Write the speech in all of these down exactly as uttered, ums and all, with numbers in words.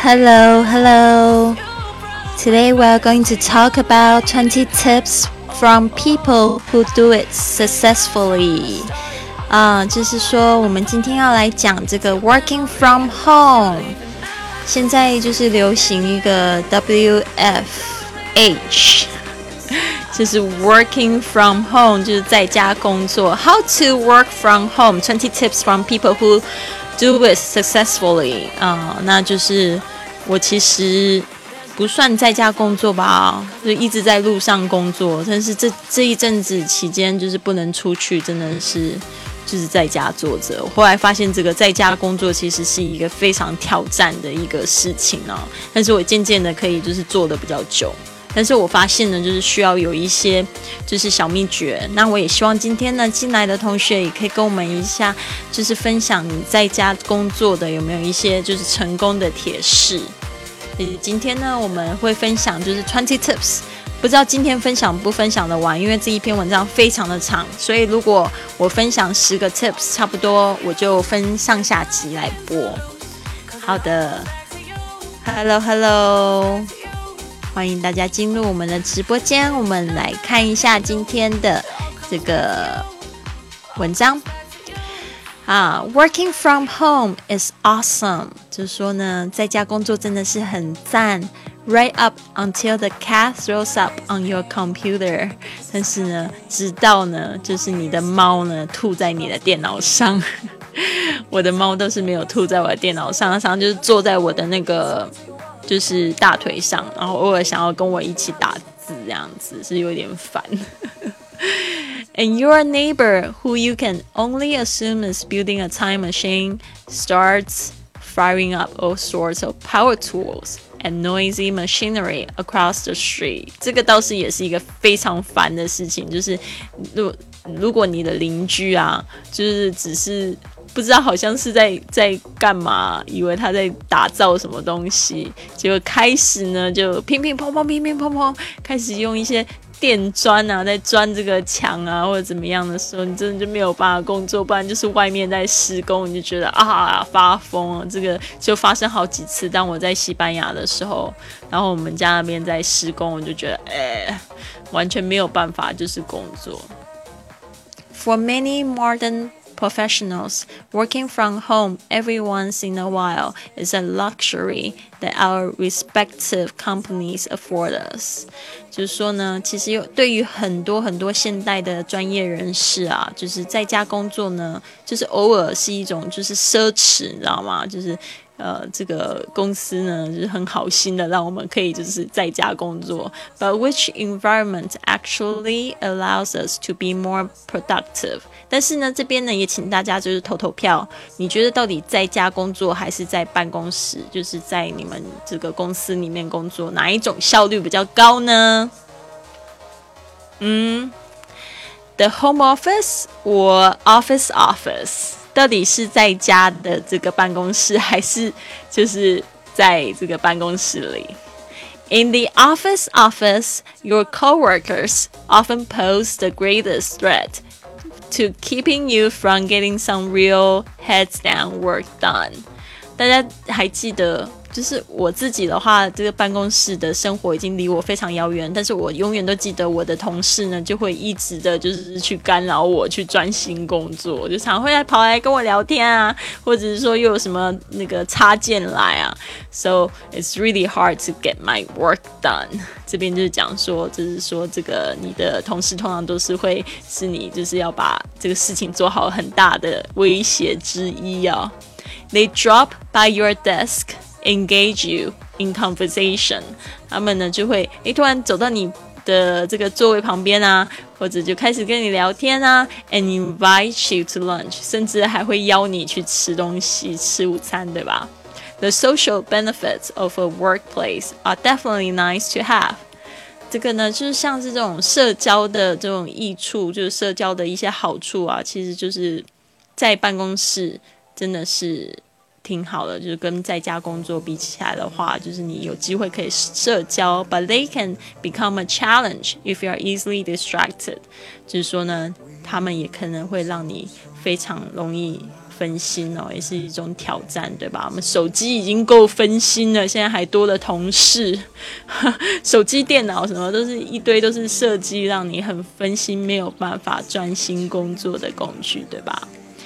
Hello, hello. Today we are going to talk about twenty tips from people who do it successfully. 啊、uh, 就是说我们今天要来讲这个 working from home. 现在就是流行一个 W F H， 就是 working from home， 就是在家工作。How to work from home? twenty tips from people who do it successfully. 啊、uh, 那就是我其实不算在家工作吧，就一直在路上工作，但是这这一阵子期间就是不能出去，真的是就是在家坐着。我后来发现这个在家工作其实是一个非常挑战的一个事情哦，但是我渐渐的可以就是做的比较久。但是我发现呢，就是需要有一些就是小秘诀。那我也希望今天呢进来的同学也可以跟我们一下，就是分享你在家工作的有没有一些就是成功的铁式。今天呢我们会分享就是twenty tips， 不知道今天分享不分享得完，因为这一篇文章非常的长，所以如果我分享十个 tips 差不多我就分上下集来播。好的 Hello Hello， 欢迎大家进入我们的直播间，我们来看一下今天的这个文章啊、uh, Working from home is awesome， 就是说呢在家工作真的是很赞。Right up until the cat throws up on your computer， 但是呢直到呢就是你的猫呢吐在你的电脑上。我的猫都是没有吐在我的电脑上，它常常就是坐在我的那个就是大腿上，然后偶尔想要跟我一起打字，这样子是有点烦。And your neighbor, who you can only assume is building a time machine, starts firing up all sorts of power tools and noisy machinery across the street. 这个倒是也是一个非常烦的事情，就是如如果你的邻居啊，就是只是不知道好像是在在干嘛，以为他在打造什么东西，结果开始呢就乒乒乓乓乒乒乓乓，开始用一些电钻啊在钻这个墙啊或者怎么样的时候，你真的就没有办法工作，不然就是外面在施工，你就觉得啊发疯了。这个就发生好几次，当我在西班牙的时候，然后我们家那边在施工，我就觉得哎，完全没有办法就是工作。For many modern professionals, working from home every once in a while is a luxury that our respective companies afford us. 就是说呢，其实有对于很多很多现代的专业人士啊，就是在家工作呢，就是偶尔是一种就是奢侈，你知道吗？就是呃，这个公司呢就是很好心的让我们可以就是在家工作 ，but which environment actually allows us to be more productive？ 但是呢，这边呢也请大家就是投投票，你觉得到底在家工作还是在办公室，就是在你们这个公司里面工作，哪一种效率比较高呢？嗯 ，the home office or office office？到底是在家的这个办公室，还是就是在这个办公室里 ？In the office office, your coworkers often pose the greatest threat to keeping you from getting some real heads down work done. 大家还记得？就是我自己的话，这个办公室的生活已经离我非常遥远，但是我永远都记得我的同事呢就会一直的就是去干扰我去专心工作，就常会来跑来跟我聊天啊，或者是说又有什么那个插件来啊 So it's really hard to get my work done. 这边就是讲说，就是说这个你的同事通常都是会是你就是要把这个事情做好很大的威胁之一啊。They drop by your desk,engage you in conversation， 他们呢就会诶突然走到你的这个座位旁边啊，或者就开始跟你聊天啊 and invite you to lunch， 甚至还会邀你去吃东西，吃午餐，对吧？ The social benefits of a workplace are definitely nice to have。 这个呢就是像是这种社交的这种益处，就是社交的一些好处啊，其实就是在办公室真的是挺好的，就是跟在家工作比起来的话，就是你有机会可以社交 but they can become a challenge if you are easily distracted， 就是说呢他们也可能会让你非常容易分心哦，也是一种挑战，对吧？我们手机已经够分心了，现在还多了同事，手机、电脑什么都是一堆，都是设计让你很分心，没有办法专心工作的工具，对吧？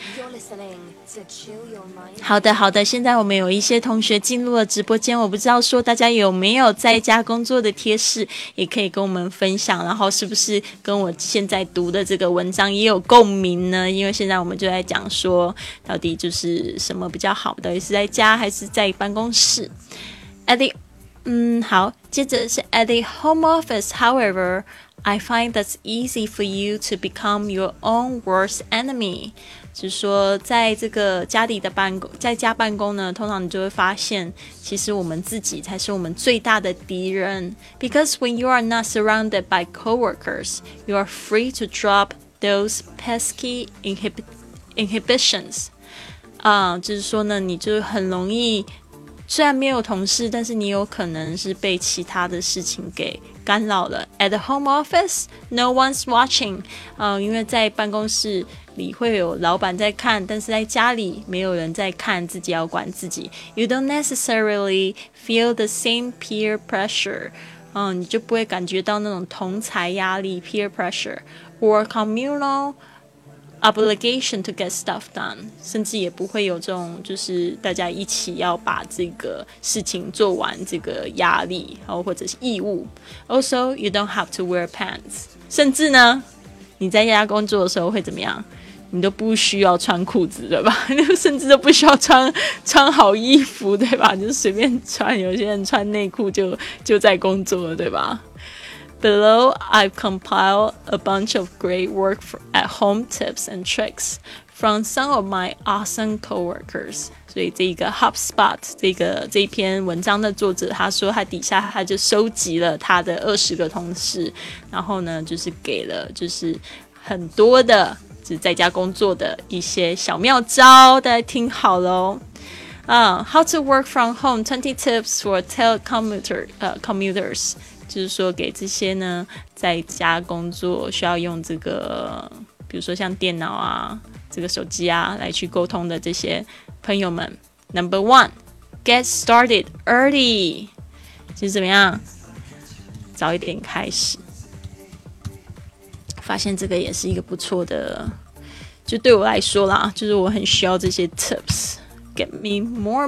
好的好的，现在我们有一些同学进入了直播间，我不知道说大家有没有在家工作的贴士，也可以跟我们分享，然后是不是跟我现在读的这个文章也有共鸣呢？因为现在我们就在讲说到底就是什么比较好，到底是在家还是在办公室。 At the 嗯好，接着是 At the home office, however, I find that's easy for you to become your own worst enemy。就是说在这个家里的办公，在家办公呢，通常你就会发现其实我们自己才是我们最大的敌人。 Because when you are not surrounded by coworkers, you are free to drop those pesky inhib- inhibitions、呃、就是说呢，你就很容易，虽然没有同事，但是你有可能是被其他的事情给干扰了。 At the home office, no one's watching、呃、因为在办公室里会有老板在看，但是在家里没有人在看，自己要管自己。 You don't necessarily feel the same peer pressure、嗯、你就不会感觉到那种同侪压力 peer pressure or communal obligation to get stuff done， 甚至也不会有这种就是大家一起要把这个事情做完这个压力或者是义务。 Also, you don't have to wear pants， 甚至呢你在家工作的时候会怎么样？你都不需要穿裤子，对吧？甚至都不需要穿穿好衣服，对吧？就随便穿，有些人穿内裤就就在工作了，对吧？Below, I've compiled a bunch of great work for at home tips and tricks from some of my awesome coworkers. 所以这个 HubSpot 这个这一篇文章的作者，他说他底下他就收集了他的二十个同事，然后呢就是给了就是很多的就是在家工作的一些小妙招，大家听好咯。Uh, how to work from home, twenty tips for telecommuter, uh, commuters. 就是说给这些呢在家工作需要用这个比如说像电脑啊这个手机啊来去沟通的这些朋友们。 Number one, get started early， 就是怎么样早一点开始。发现这个也是一个不错的，就对我来说啦，就是我很需要这些 tips get me more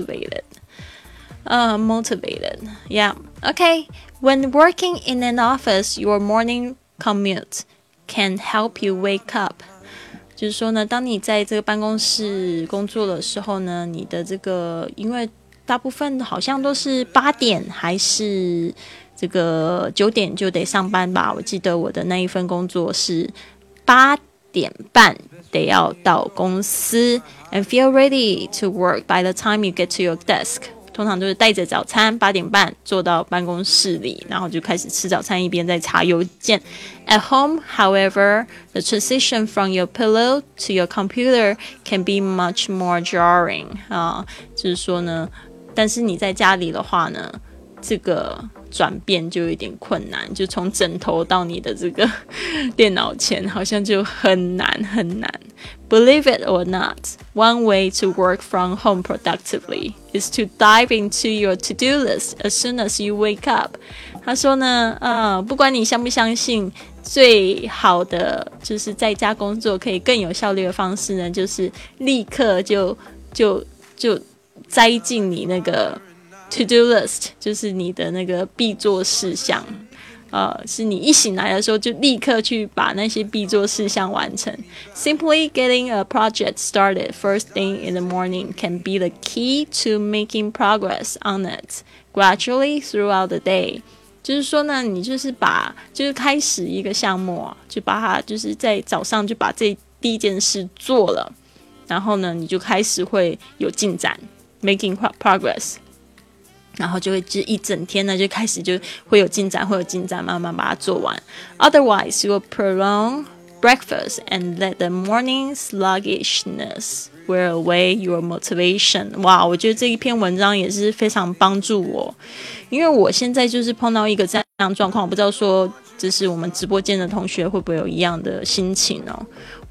motivated、uh, motivated yeah okay When working in an office, your morning commute can help you wake up. 就是说呢，当你在这个办公室工作的时候呢，你的这个因为大部分好像都是八点还是这个九点就得上班吧。我记得我的那一份工作是八点半得要到公司 and feel ready to work by the time you get to your desk。通常都是带着早餐，八点半坐到办公室里，然后就开始吃早餐，一边在查邮件。At home, however, the transition from your pillow to your computer can be much more jarring、啊、就是说呢，但是你在家里的话呢，这个转变就有点困难，就从枕头到你的这个电脑前，好像就很难很难。Believe it or not, one way to work from home productively is to dive into your to-do list as soon as you wake up. 他说呢，呃，不管你相不相信，最好的就是在家工作可以更有效率的方式呢，就是立刻就就就栽进你那个 to-do list， 就是你的那个必做事项。呃，是你一醒来的时候就立刻去把那些必做事项完成。Simply getting a project started first thing in the morning can be the key to making progress on it gradually throughout the day. 就是说呢，你就是把就是开始一个项目啊，就把它就是在早上就把这第一件事做了，然后呢，你就开始会有进展 ，making progress。然后就会就一整天呢就开始就会有进展会有进展慢慢把它做完。 Otherwise you will prolong breakfast and let the morning sluggishness wear away your motivation. 哇，我觉得这一篇文章也是非常帮助我，因为我现在就是碰到一个这样的状况，我不知道说这是我们直播间的同学会不会有一样的心情哦。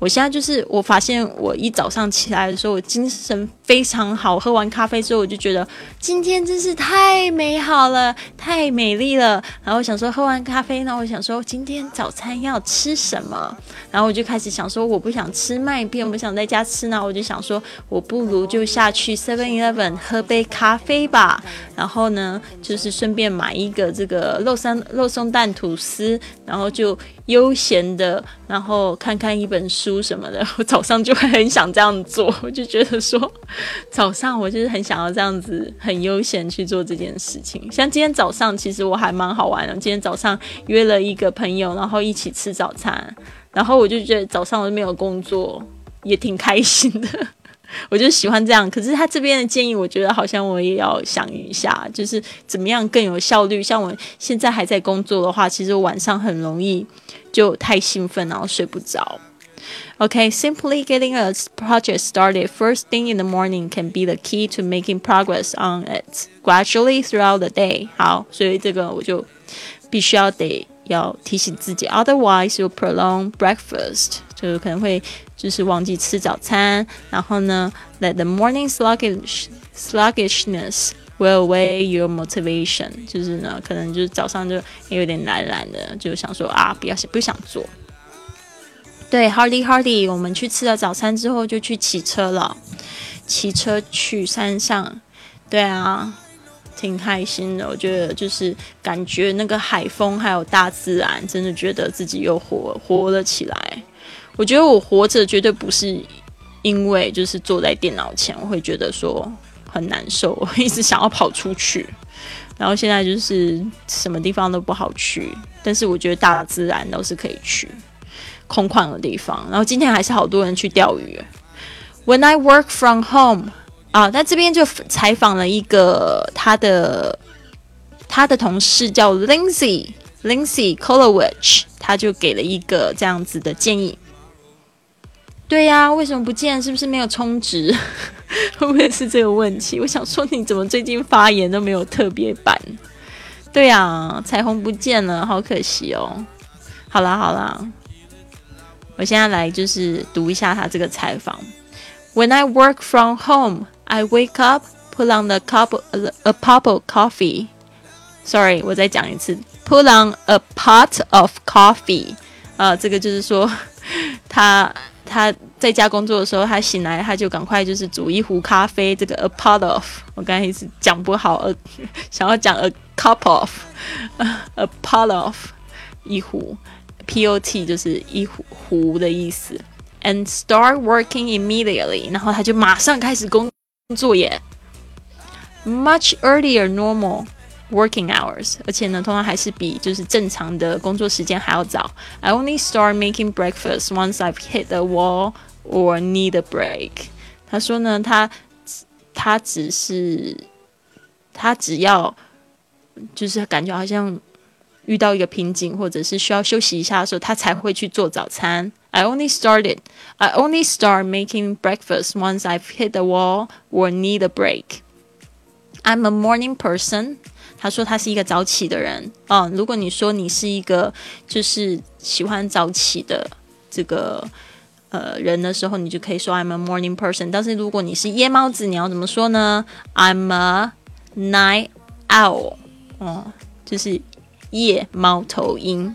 我现在就是我发现我一早上起来的时候，我精神非常好，喝完咖啡之后我就觉得今天真是太美好了，太美丽了。然后我想说喝完咖啡呢，我想说今天早餐要吃什么，然后我就开始想说我不想吃麦片，我不想在家吃呢，我就想说我不如就下去 seven eleven 喝杯咖啡吧，然后呢就是顺便买一个这个肉松肉松蛋吐司，然后就悠闲的然后看看一本书什么的。我早上就会很想这样做，我就觉得说早上我就是很想要这样子很悠闲去做这件事情。像今天早上其实我还蛮好玩的，今天早上约了一个朋友，然后一起吃早餐，然后我就觉得早上我没有工作也挺开心的，我就喜欢这样。可是他这边的建议我觉得好像我也要想一下，就是怎么样更有效率。像我现在还在工作的话，其实我晚上很容易就太兴奋然后睡不着。Okay, simply getting a project started first thing in the morning can be the key to making progress on it gradually throughout the day. 好，所以这个我就必须要得要提醒自己 ，otherwise you prolong breakfast， 就可能会就是忘记吃早餐，然后呢 ，let the morning sluggish sluggishness will weigh your motivation， 就是呢，可能就是早上就有点懒懒的，就想说啊，不要不想做。对 ，Hardy Hardy， 我们去吃了早餐之后就去骑车了，骑车去山上，对啊，挺开心的。我觉得就是感觉那个海风还有大自然，真的觉得自己又活活了起来。我觉得我活着绝对不是因为就是坐在电脑前，我会觉得说很难受，我一直想要跑出去。然后现在就是什么地方都不好去，但是我觉得大自然都是可以去。空旷的地方，然后今天还是好多人去钓鱼。When I work from home， 啊，那这边就采访了一个他的他的同事叫 Lindsay Lindsay Kolowich， 他就给了一个这样子的建议。对呀、啊，为什么不见？是不是没有充值？会不会是这个问题？我想说，你怎么最近发言都没有特别版？对呀、啊，彩虹不见了，好可惜哦。好啦好啦。我现在来就是读一下他这个采访。When I work from home, I wake up, put on the cup, a pot of coffee. Sorry, 我再讲一次。Put on a pot of coffee. 呃，这个就是说，他他在家工作的时候，他醒来他就赶快就是煮一壶咖啡。这个 a pot of， 我刚才一直讲不好，呃，想要讲 a cup of, a pot of 一壶。pot 就是一壶壶的意思 and start working immediately， 然后他就马上开始工作耶 much earlier normal working hours， 而且呢通常还是比就是正常的工作时间还要早。 I only start making breakfast once I've hit a wall or need a break。 他说呢他他只是他只要就是感觉好像遇到一个瓶颈或者是需要休息一下的时候，他才会去做早餐。I only started, I only start making breakfast once I've hit a wall or need a break. I'm a morning person. 他说他是一个早起的人。嗯，如果你说你是一个就是喜欢早起的这个呃人的时候，你就可以说 I'm a morning person。但是如果你是夜猫子，你要怎么说呢？ I'm a night owl。哦，就是夜猫头鹰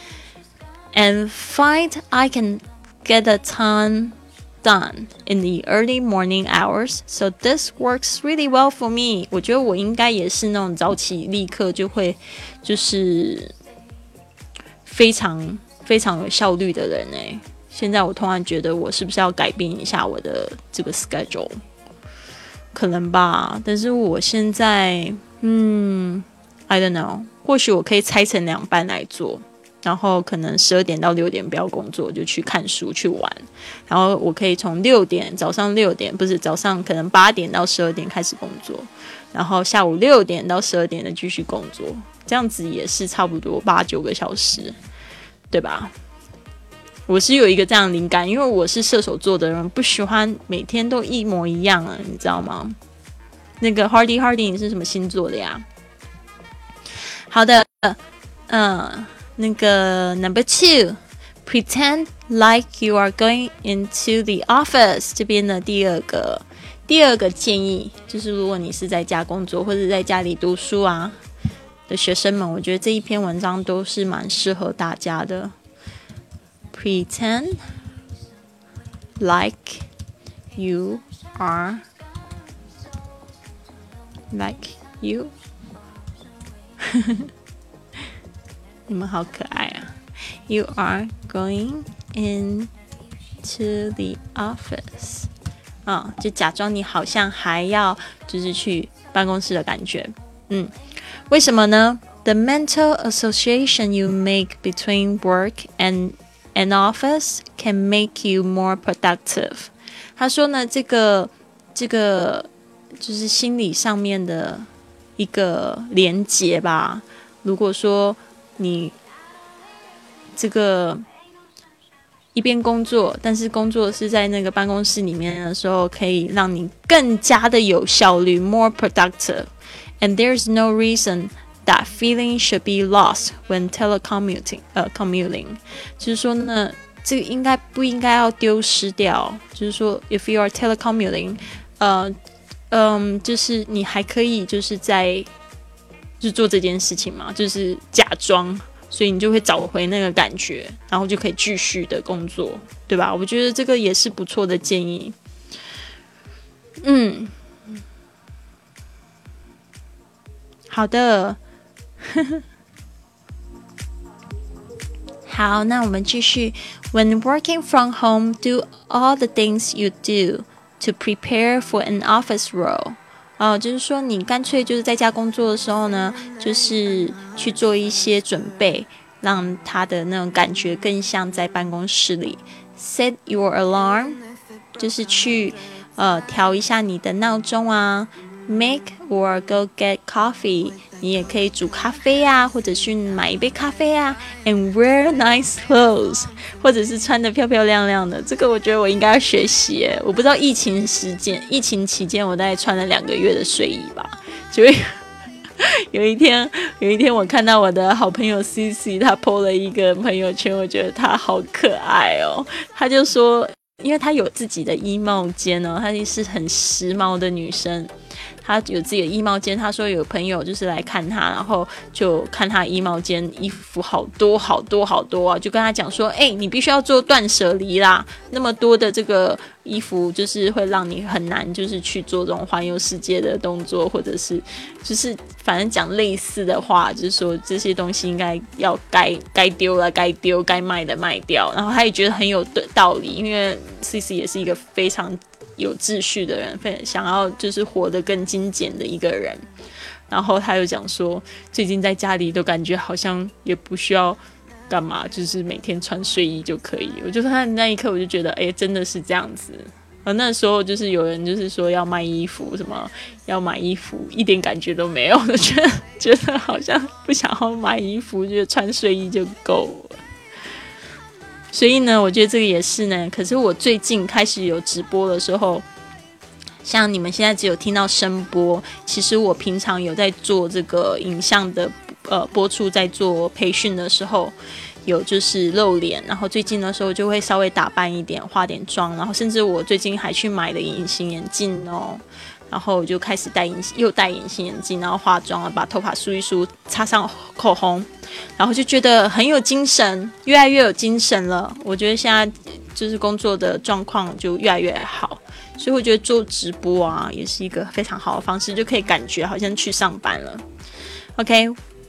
and find I can get a ton done in the early morning hours, so this works really well for me。 我觉得我应该也是那种早起立刻就会就是非常非常有效率的人耶。现在我突然觉得我是不是要改变一下我的这个 schedule， 可能吧，但是我现在嗯 I don't know，或许我可以拆成两班来做，然后可能十二点到六点不要工作，就去看书去玩，然后我可以从六点早上六点不是早上可能八点到十二点开始工作，然后下午六点到十二点的继续工作，这样子也是差不多八九个小时，对吧？我是有一个这样的灵感，因为我是射手座的人，不喜欢每天都一模一样啊，你知道吗？那个 Hardy Hardy 你是什么星座的呀？好的，嗯，那个 number two， Pretend like you are going into the office. 这边的第二个第二个建议就是，如果你是在家工作或者在家里读书啊的学生们，我觉得这一篇文章都是蛮适合大家的。Pretend like you are like you 你们好可爱啊。You are going into the office 啊、哦，就假装你好像还要就是去办公室的感觉。嗯，为什么呢？ The mental association you make between work and an office can make you more productive. 他说呢，这个这个就是心理上面的一个连结吧。如果说你这个一边工作，但是工作是在那个办公室里面的时候，可以让你更加的有效率 more productive. And there's no reason that feeling should be lost when telecommuting, 呃 commuting. 就是说呢，这个应该不应该要丢失掉？就是说 if you are telecommuting, 呃嗯，就是你还可以就是在就做这件事情嘛，就是假装。所以你就会找回那个感觉，然后就可以继续的工作，对吧？我觉得这个也是不错的建议。嗯，好的。好，那我们继续。When working from home, do all the things you do to prepare for an office role. 哦，就是说你干脆就是在家工作的时候呢，就是去做一些准备，让他的那种感觉更像在办公室里。Set your alarm， 就是去呃调一下你的闹钟啊。Make or go get coffee， 你也可以煮咖啡啊，或者去买一杯咖啡啊。And wear nice clothes， 或者是穿得漂漂亮亮的。这个我觉得我应该要学习耶。我不知道疫情时间，疫情期间我大概穿了两个月的睡衣吧。所以有一天，有一天我看到我的好朋友 C C， 她 po 了一个朋友圈，我觉得她好可爱哦。她就说，因为她有自己的衣帽间哦，她是很时髦的女生。他有自己的衣帽间，他说有朋友就是来看他，然后就看他衣帽间衣服好多好多好多啊，就跟他讲说，哎、欸，你必须要做断舍离啦，那么多的这个衣服就是会让你很难就是去做这种环游世界的动作，或者是就是反正讲类似的话，就是说这些东西应该要该该丢了该丢，该卖的卖掉，然后他也觉得很有道理，因为 C C 也是一个非常有秩序的人，想要就是活得更精简的一个人。然后他又讲说，最近在家里都感觉好像也不需要干嘛，就是每天穿睡衣就可以。我就看那一刻，我就觉得，哎，真的是这样子。而那时候就是有人就是说要卖衣服，什么要买衣服，一点感觉都没有，我觉得觉得好像不想要买衣服，觉得穿睡衣就够了。所以呢，我觉得这个也是呢。可是我最近开始有直播的时候，像你们现在只有听到声波，其实我平常有在做这个影像的呃播出，在做培训的时候，有就是露脸，然后最近的时候就会稍微打扮一点，化点妆，然后甚至我最近还去买了隐形眼镜哦。然后我就开始戴隐又戴隐形眼镜，然后化妆，把头发梳一梳，擦上口红，然后就觉得很有精神，越来越有精神了。我觉得现在就是工作的状况就越来越好，所以我觉得做直播啊也是一个非常好的方式，就可以感觉好像去上班了。Okay,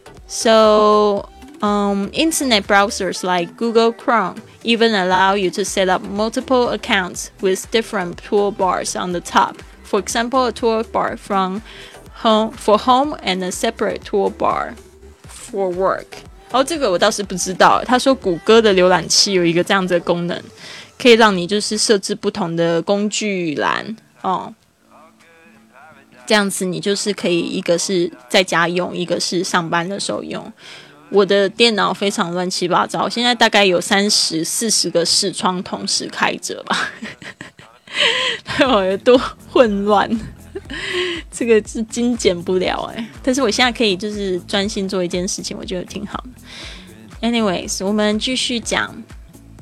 so um, internet browsers like Google Chrome even allow you to set up multiple accounts with different toolbars on the top.For example, a toolbar from home for home and a separate toolbar for work. 哦，这个我倒是不知道。他说谷歌的浏览器有一个这样子的功能，可以让你就是设置不同的工具栏哦。这样子你就是可以一个是在家用，一个是上班的时候用。我的电脑非常乱七八糟，现在大概有三十、四十个视窗同时开着吧。我有多混乱，这个是精简不了哎。但是我现在可以就是专心做一件事情，我觉得挺好的。Anyways， 我们继续讲。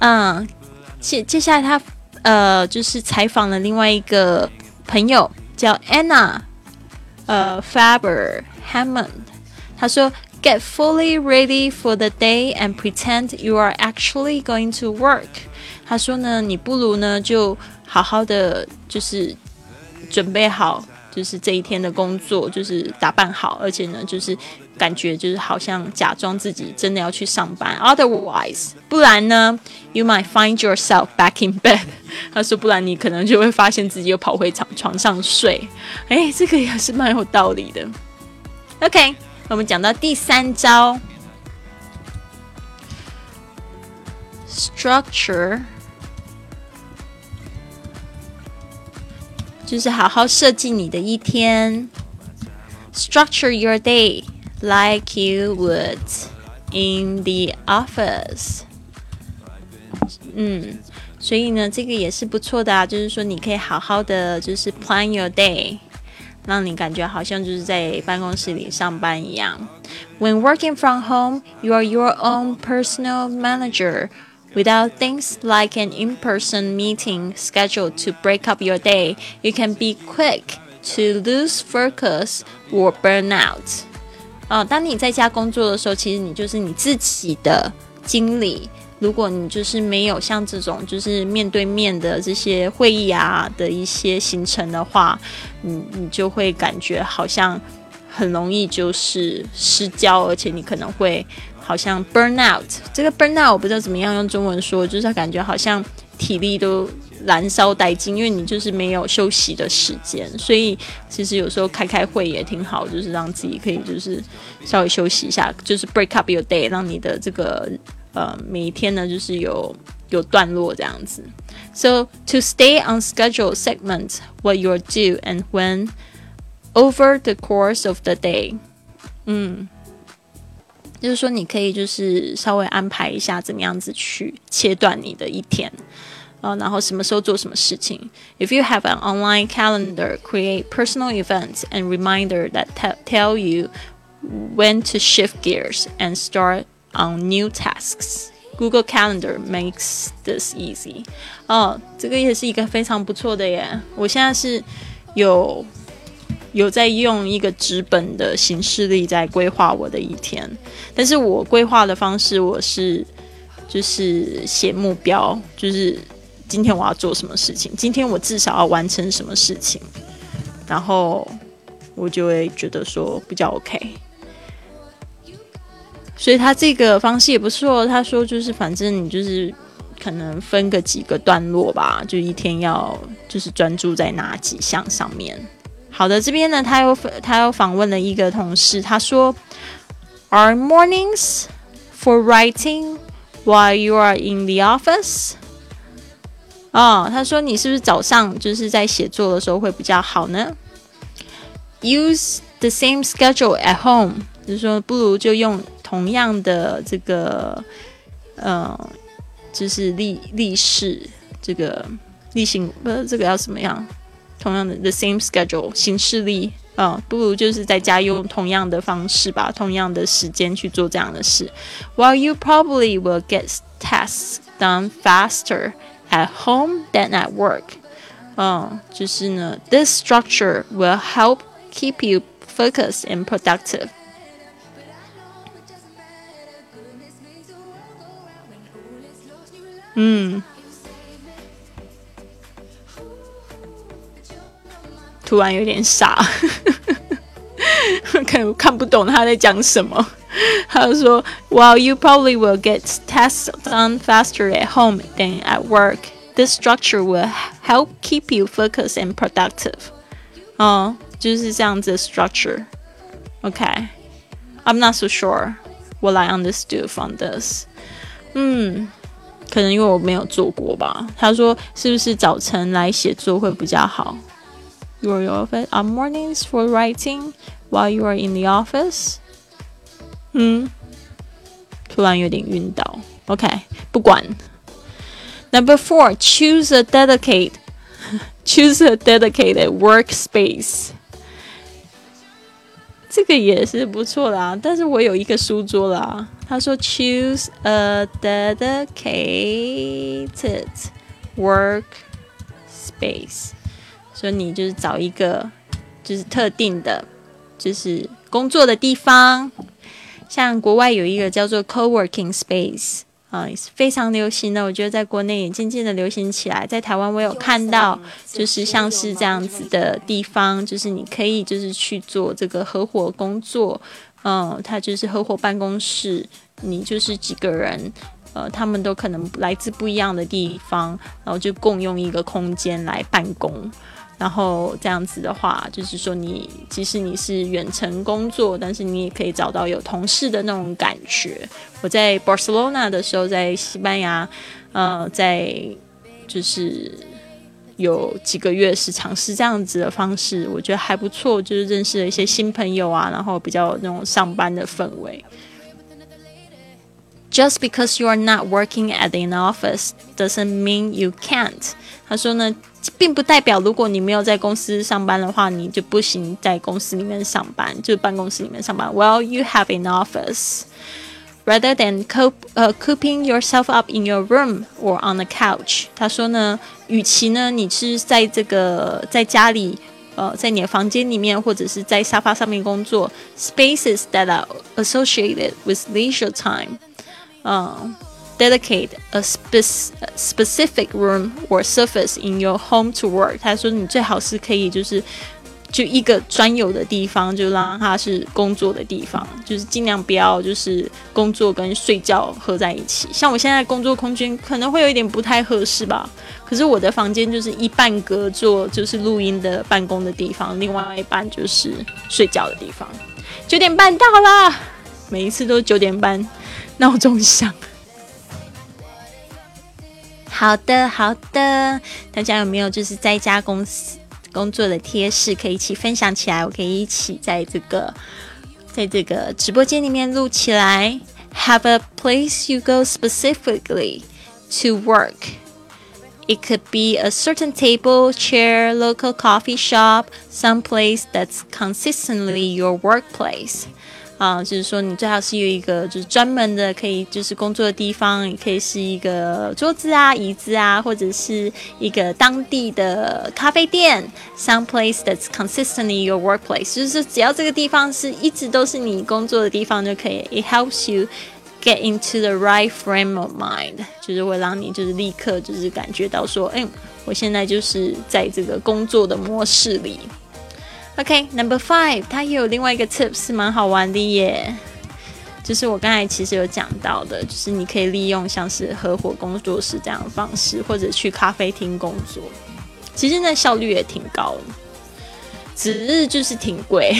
嗯，接接下来他呃就是采访了另外一个朋友叫 Anna 呃 Faber Hammond， 他说 Get fully ready for the day and pretend you are actually going to work。 他说呢，你不如呢就好好的就是准备好，就是这一天的工作，就是打扮好，而且呢就是感觉就是好像假装自己真的要去上班 Otherwise 不然呢 You might find yourself back in bed。 他说不然你可能就会发现自己又跑回床床上睡。诶，这个也是蛮有道理的。 OK， 我们讲到第三招 Structure， 就是好好设计你的一天。 Structure your day like you would in the office。 嗯，所以呢这个也是不错的啊，就是说你可以好好的就是 plan your day， 让你感觉好像就是在办公室里上班一样。 When working from home, you are your own personal manager. Without things like an in-person meeting scheduled to break up your day, you can be quick to lose focus or burn out。哦，当你在家工作的时候，其实你就是你自己的经理。如果你就是没有像这种就是面对面的这些会议啊的一些行程的话，你你就会感觉好像很容易就是失焦，而且你可能会好像 burn out。 这个 burn out 我不知道怎么样用中文说，就是感觉好像体力都燃烧殆尽，因为你就是没有休息的时间。所以其实有时候开开会也挺好，就是让自己可以就是稍微休息一下，就是 break up your day， 让你的这个呃每一天呢就是有有段落这样子。 So to stay on schedule, segment what you'll do and when over the course of the day。 嗯，就是说你可以就是稍微安排一下怎么样子去切断你的一天，呃，然后什么时候做什么事情。 If you have an online calendar, create personal events and reminder that t- tell you when to shift gears and start on new tasks. Google Calendar makes this easy。 哦，这个也是一个非常不错的耶。我现在是有有在用一个纸本的行事历在规划我的一天，但是我规划的方式我是就是写目标，就是今天我要做什么事情，今天我至少要完成什么事情，然后我就会觉得说比较 OK。 所以他这个方式也不错，他说就是反正你就是可能分个几个段落吧，就一天要就是专注在哪几项上面。好的，这边呢他又他又访问了一个同事，他说 Are mornings for writing while you are in the office？ 哦，他说你是不是早上就是在写作的时候会比较好呢？ Use the same schedule at home， 就是说不如就用同样的这个呃就是历历史这个例行不是这个要怎么样，同样的 the same schedule 行事历，呃，不如就是在家用同样的方式吧，同样的时间去做这样的事。While you probably will get tasks done faster at home than at work， 呃，就是呢 this structure will help keep you focused and productive。嗯，突然有点傻可能看不懂他在讲什么。他就说 While you probably will get tasks done faster at home than at work, this structure will help keep you focused and productive。 哦，就是这样子的 structure。 OK, I'm not so sure what I understood from this。 嗯，可能因为我没有做过吧。他说是不是早晨来写作会比较好？ Your office are mornings for writing while you are in the office。 嗯，突然有点晕倒。 OK， 不管。 Number four, choose a dedicate choose a dedicated workspace。 这个也是不错啦，但是我有一个书桌啦。 他说 choose a dedicated work space， 所以你就是找一个就是特定的就是工作的地方，像国外有一个叫做 co-working space啊、呃，非常流行的，我觉得在国内也渐渐的流行起来。在台湾我有看到，就是像是这样子的地方，就是你可以就是去做这个合伙工作，嗯，它就是合伙办公室，你就是几个人，呃，他们都可能来自不一样的地方，然后就共用一个空间来办公。然后这样子的话，就是说你即使你是远程工作，但是你也可以找到有同事的那种感觉。我在 Barcelona 的时候，在西班牙，呃，在就是有几个月是尝试这样子的方式，我觉得还不错，就是认识了一些新朋友啊，然后比较那种上班的氛围。Just because you are not working at an office doesn't mean you can't. 他说呢，并不代表如果你没有在公司上班的话，你就不行在公司里面上班，就办公室里面上班。Well, you have an office. Rather than coop, uh, cooping yourself up in your room or on a couch. 他说呢，与其呢你是在这个在家里。呃，在你的房间里面，或者是在沙发上面工作 ，spaces that are associated with leisure time, um, dedicate a spe- specific room or surface in your home to work. 他说你最好是可以就是就一个专有的地方，就让它是工作的地方，就是尽量不要就是工作跟睡觉合在一起。像我现在工作空间可能会有一点不太合适吧。可是我的房间就是一半隔做就是录音的办公的地方，另外一半就是睡觉的地方。九点半到了，每一次都九点半闹钟响。好的好的，大家有没有就是在家公司工作的贴士可以一起分享起来？我可以一起在这个在这个直播间里面录起来。Have a place you go specifically to work.It could be a certain table, chair, local coffee shop, some place that's consistently your workplace. 啊、呃，就是说你最好是有一个就是专门的可以就是工作的地方，也可以是一个桌子啊、椅子啊，或者是一个当地的咖啡店 ，some place that's consistently your workplace. 就是只要这个地方是一直都是你工作的地方就可以。It helps you.Get into the right frame of mind， 就是会让你就是立刻就是感觉到说，哎，我现在就是在这个工作的模式里。OK，Number、okay, five， 它也有另外一个 tips 是蛮好玩的耶，就是我刚才其实有讲到的，就是你可以利用像是合伙工作室这样的方式，或者去咖啡厅工作，其实那效率也挺高的，只是就是挺贵。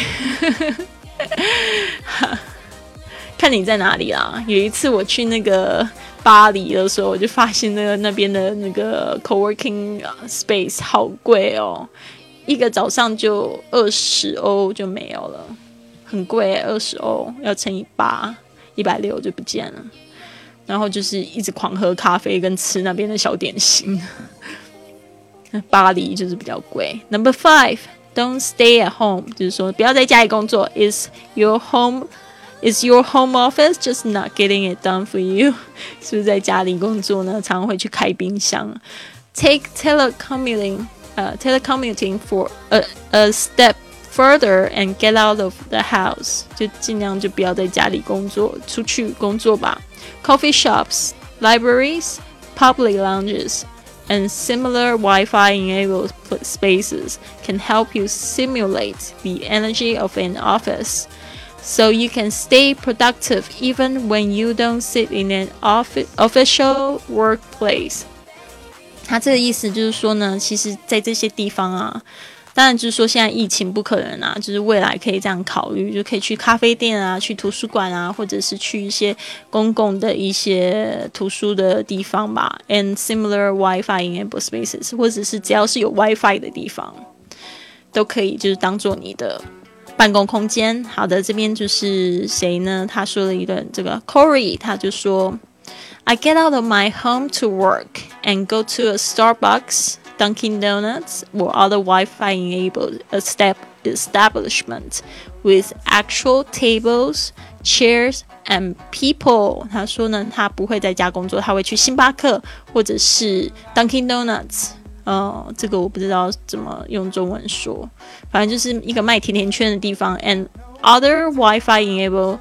看你在哪里啦。有一次我去那个巴黎的时候，我就发现那个那边的那个 co-working space 好贵哦，一个早上就二十欧就没有了，很贵，二十欧要乘以八，一百六就不见了。然后就是一直狂喝咖啡跟吃那边的小点心。巴黎就是比较贵。Number five, don't stay at home， 就是说不要在家里工作。Is your home?Is your home office just not getting it done for you? 是不是在家里工作呢？常常会去开冰箱。Take telecommuting, uh, telecommuting for a, a step further and get out of the house. 就尽量就不要在家里工作，出去工作吧。Coffee shops, libraries, public lounges, and similar Wi-Fi-enabled spaces can help you simulate the energy of an office.So you can stay productive even when you don't sit in an office, official workplace. 他这个意思就是说呢，其实在这些地方啊，当然就是说现在疫情不可能啊，就是未来可以这样考虑，就可以去咖啡店啊，去图书馆啊，或者是去一些公共的一些图书的地方吧。And similar Wi-Fi enabled spaces， 或者是只要是有 Wi-Fi 的地方，都可以就是当做你的办公空间。好的，这边就是谁呢？他说了一段这个 Corey， 他就说 I get out of my home to work and go to a Starbucks, Dunkin' Donuts, or other Wi-Fi enabled establishment with actual tables, chairs and people。 他说呢，他不会在家工作，他会去星巴克或者是 Dunkin' Donuts。呃，这个我不知道怎么用中文说，反正就是一个卖甜甜圈的地方。And other Wi-Fi enabled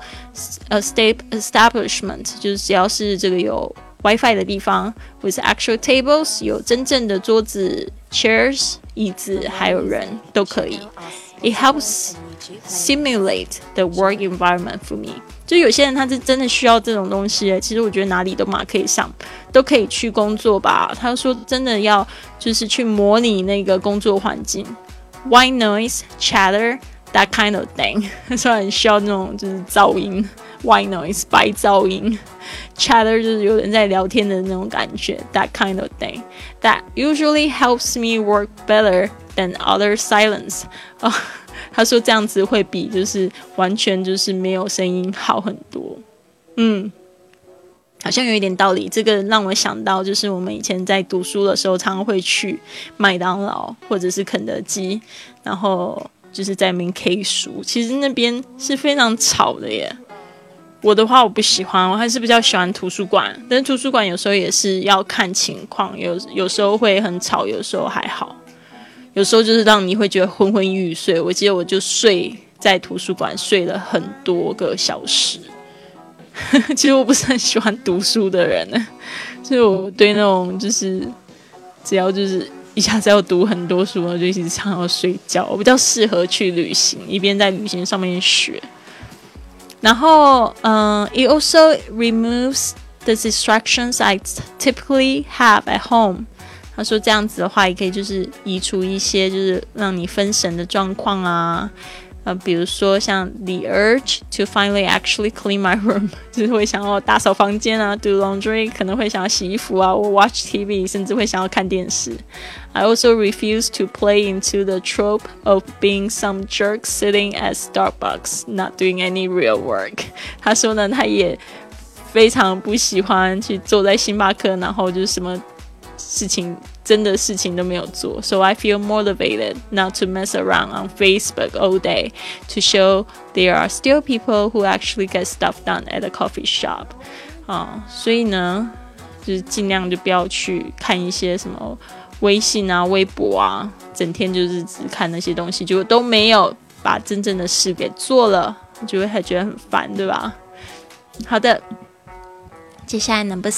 establishment， 就是只要是这个有 Wi-Fi 的地方 ，with actual tables， 有真正的桌子 chairs 椅子，还有人都可以。It helps simulate the work environment for me。就有些人他是真的需要这种东西，其实我觉得哪里都嘛可以上，都可以去工作吧。他说真的要就是去模拟那个工作环境 ，white noise, chatter, that kind of thing。他说很需要那种就是噪音 ，white noise 白噪音 ，chatter 就是有人在聊天的那种感觉 ，that kind of thing。That usually helps me work better than other silence。哦，他说这样子会比就是完全就是没有声音好很多。嗯，好像有一点道理。这个让我想到就是我们以前在读书的时候常常会去麦当劳或者是肯德基，然后就是在那边 K 书，其实那边是非常吵的耶。我的话我不喜欢，我还是比较喜欢图书馆，但是图书馆有时候也是要看情况，有有时候会很吵，有时候还好，有时候就是让你会觉得昏昏欲睡。我记得我就睡在图书馆睡了很多个小时。其实我不是很喜欢读书的人，所以我对那种就是只要就是一下子要读很多书，我就一直常要睡觉。我比较适合去旅行，一边在旅行上面学。然后，嗯 ，it also removes the distractions I typically have at home。他说这样子的话，也可以就是移除一些就是让你分神的状况啊。呃，比如说像 the urge to finally actually clean my room， 就是会想要打扫房间啊 ，do laundry， 可能会想要洗衣服啊，或 watch T V， 甚至会想要看电视。I also refuse to play into the trope of being some jerk sitting at Starbucks, not doing any real work。他说呢，他也非常不喜欢去坐在星巴克，然后就是什么事情真的事情都没有做。So I feel motivated not to mess around on Facebook all day to show there are still people who actually get stuff done at a coffee shop。啊，所以呢，就是尽量就不要去看一些什么微信啊、微博啊，整天就是只看那些东西，结果都没有把真正的事给做了，就会还觉得很烦，对吧？好的，接下来 number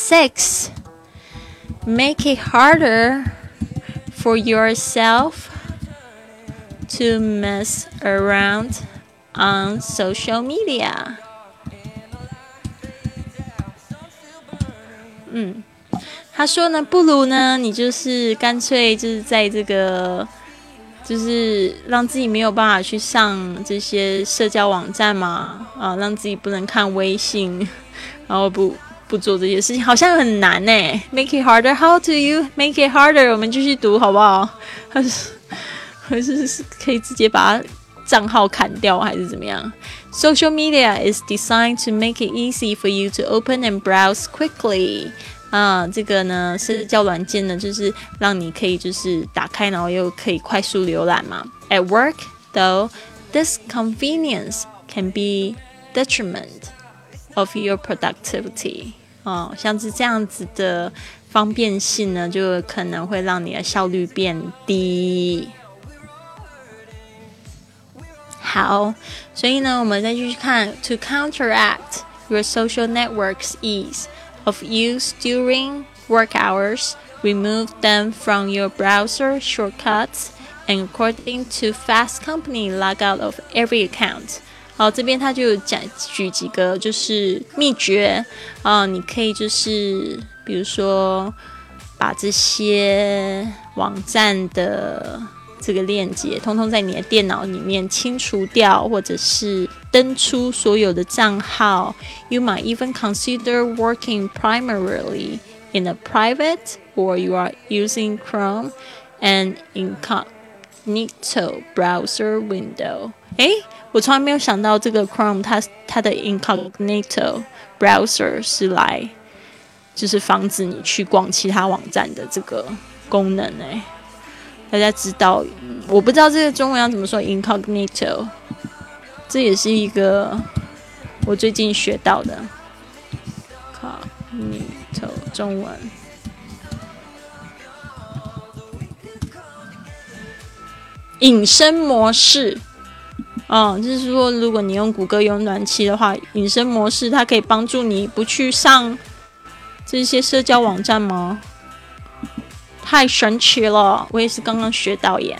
six。Make it harder for yourself to mess around on social media。 嗯，他说呢，不如呢，你就是干脆就是在这个，就是让自己没有办法去上这些社交网站嘛，啊，让自己不能看微信，然后不。不做这些事情好像很难耶。Make it harder. How do you make it harder? 我们继续读好不好？还是还是可以直接把它账号砍掉，还是怎么样 ？Social media is designed to make it easy for you to open and browse quickly. 啊，这个呢，社交软件呢，就是让你可以就是打开，然后又可以快速浏览嘛。At work, though, this convenience can be detriment of your productivity。哦，像是这样子的方便性呢，就可能会让你的效率变低。好，所以呢，我们再继续看 to counteract your social network's ease of use during work hours, remove them from your browser shortcuts, and according to Fast Company, log out of every account。好，这边他就讲举几个就是秘诀啊，你可以就是比如说把这些网站的这个链接通通在你的电脑里面清除掉，或者是登出所有的账号。You might even consider working primarily in a private or you are using Chrome and incognito browser window。诶，我从来没有想到这个 Chrome 它它的 incognito browser 是来就是防止你去逛其他网站的这个功能诶。大家知道，我不知道这个中文要怎么说 incognito， 这也是一个我最近学到的 Cognito 中文隐身模式，嗯，就是说如果你用谷歌用暖气的话，隐身模式它可以帮助你不去上这些社交网站吗？太神奇了，我也是刚刚学到耶。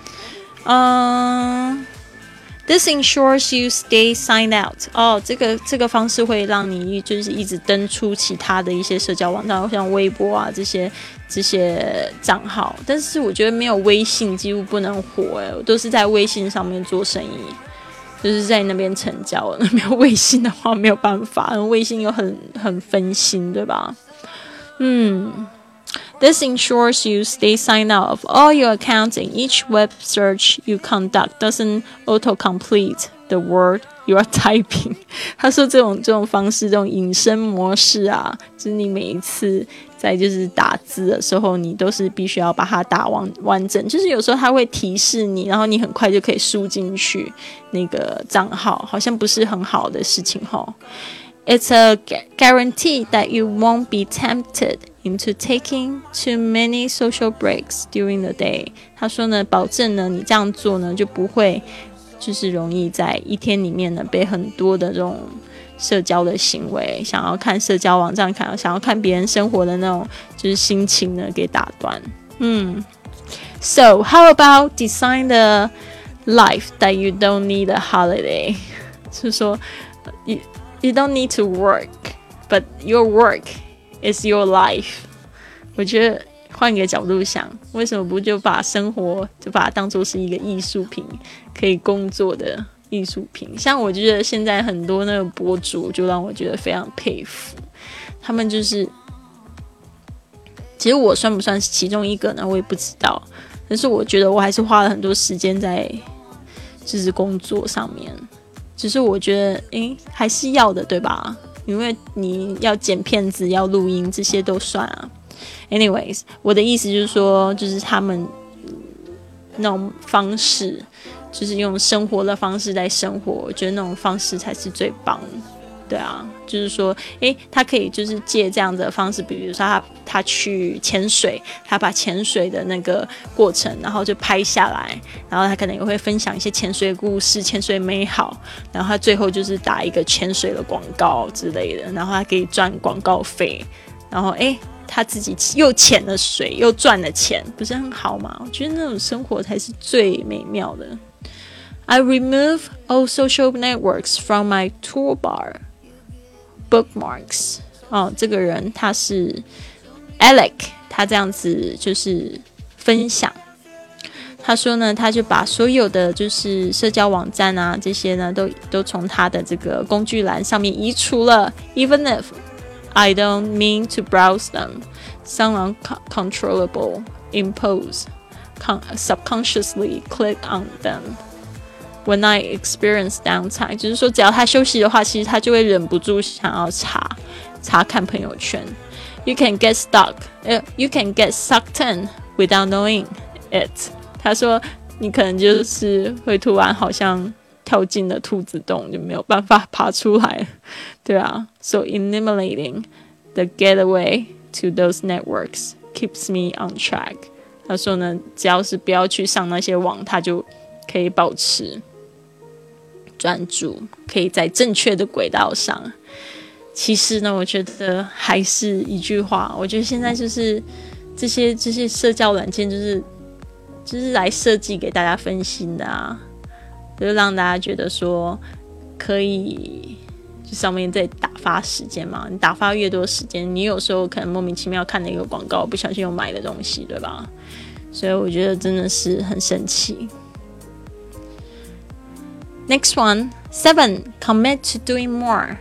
嗯 This ensures you stay signed out. 哦，这个这个方式会让你就是一直登出其他的一些社交网站，像微博啊这些这些账号。但是我觉得没有微信几乎不能活哎，我都是在微信上面做生意，就是在那边成交。没有微信的话没有办法，微信又很很分心，对吧？嗯。This ensures you stay signed out of all your accounts and each web search you conduct doesn't autocomplete the word you are typing. 他说这种这种方式，这种隐身模式啊，就是你每一次在就是打字的时候，你都是必须要把它打完完整。就是有时候它会提示你，然后你很快就可以输进去那个账号，好像不是很好的事情齁。It's a guarantee that you won't be tempted into taking too many social breaks during the day. 他说呢，保证呢，你这样做呢，就不会就是容易在一天里面呢被很多的这种社交的行为，想要看社交网站，看想要看别人生活的那种就是心情呢给打断。嗯 ，So how about design the life that you don't need a holiday? 就是说，you you don't need to work, but your work is your life. 我觉得换个角度想，为什么不就把生活就把它当作是一个艺术品，可以工作的艺术品？像我觉得现在很多那个博主就让我觉得非常佩服，他们就是其实我算不算是其中一个呢？我也不知道，但是我觉得我还是花了很多时间在就是工作上面。只是我觉得，诶，还是要的，对吧？因为你要剪片子、要录音，这些都算啊。Anyways， 我的意思就是说，就是他们那种方式，就是用生活的方式在生活，我觉得那种方式才是最棒的。对啊，就是说，诶，他可以就是借这样子的方式，比如说他他去潜水，他把潜水的那个过程，然后就拍下来，然后他可能也会分享一些潜水的故事、潜水美好，然后他最后就是打一个潜水的广告之类的，然后他可以赚广告费，然后诶，他自己又潜了水，又赚了钱，不是很好吗？我觉得那种生活才是最美妙的。I remove all social networks from my toolbar.Bookmarks 哦，这个人他是 Alec， 他这样子就是分享。他说呢，他就把所有的就是社交网站啊这些呢，都都從他的這個工具欄上面移除了。Even if I don't mean to browse them, some uncontrollable impulse subconsciously click on them.When I experience downtime， 就是说只要他休息的话，其实他就会忍不住想要查查看朋友圈。You can get stuck, uh, you can get sucked in without knowing it。他说你可能就是会突然好像跳进了兔子洞，就没有办法爬出来。对啊 ，So eliminating the getaway to those networks keeps me on track。他说呢，只要是不要去上那些网，他就可以保持专注，可以在正确的轨道上。其实呢，我觉得还是一句话，我觉得现在就是这些这些社交软件，就是就是来设计给大家分心的啊，就是让大家觉得说可以就上面在打发时间嘛。你打发越多时间，你有时候可能莫名其妙看了一个广告，不小心又买了东西，对吧？所以我觉得真的是很神奇。Next one, seven, commit to doing more.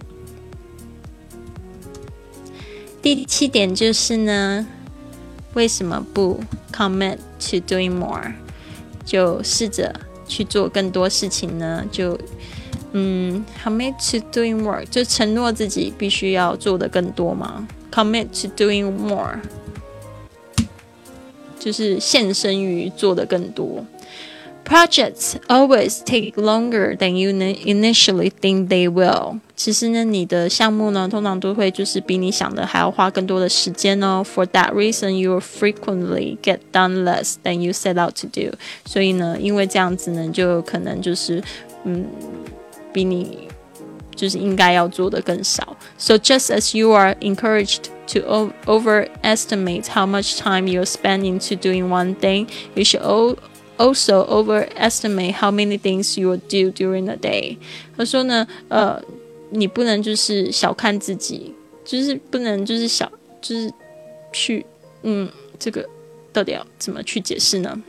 第七点就是呢，为什么不 commit to doing more？ 就试着去做更多事情呢？就嗯 ，commit to doing more， 就承诺自己必须要做的更多嘛。commit to doing more， 就是献身于做的更多。 Projects always take longer than you initially think they will. 其实呢，你的项目呢，通常都会就是比你想的还要花更多的时间哦。For that reason, you will frequently get done less than you set out to do. 所以呢，因为这样子呢，就可能就是嗯，比你就是应该要做的更少。So just as you are encouraged to o- overestimate how much time you'll spend into doing one thing, you should al-also overestimate how many things you will do during the day. 他说呢，呃，你不能就是小看自己，就是不能就是小，就是去，嗯，这个到底要怎么去解释呢？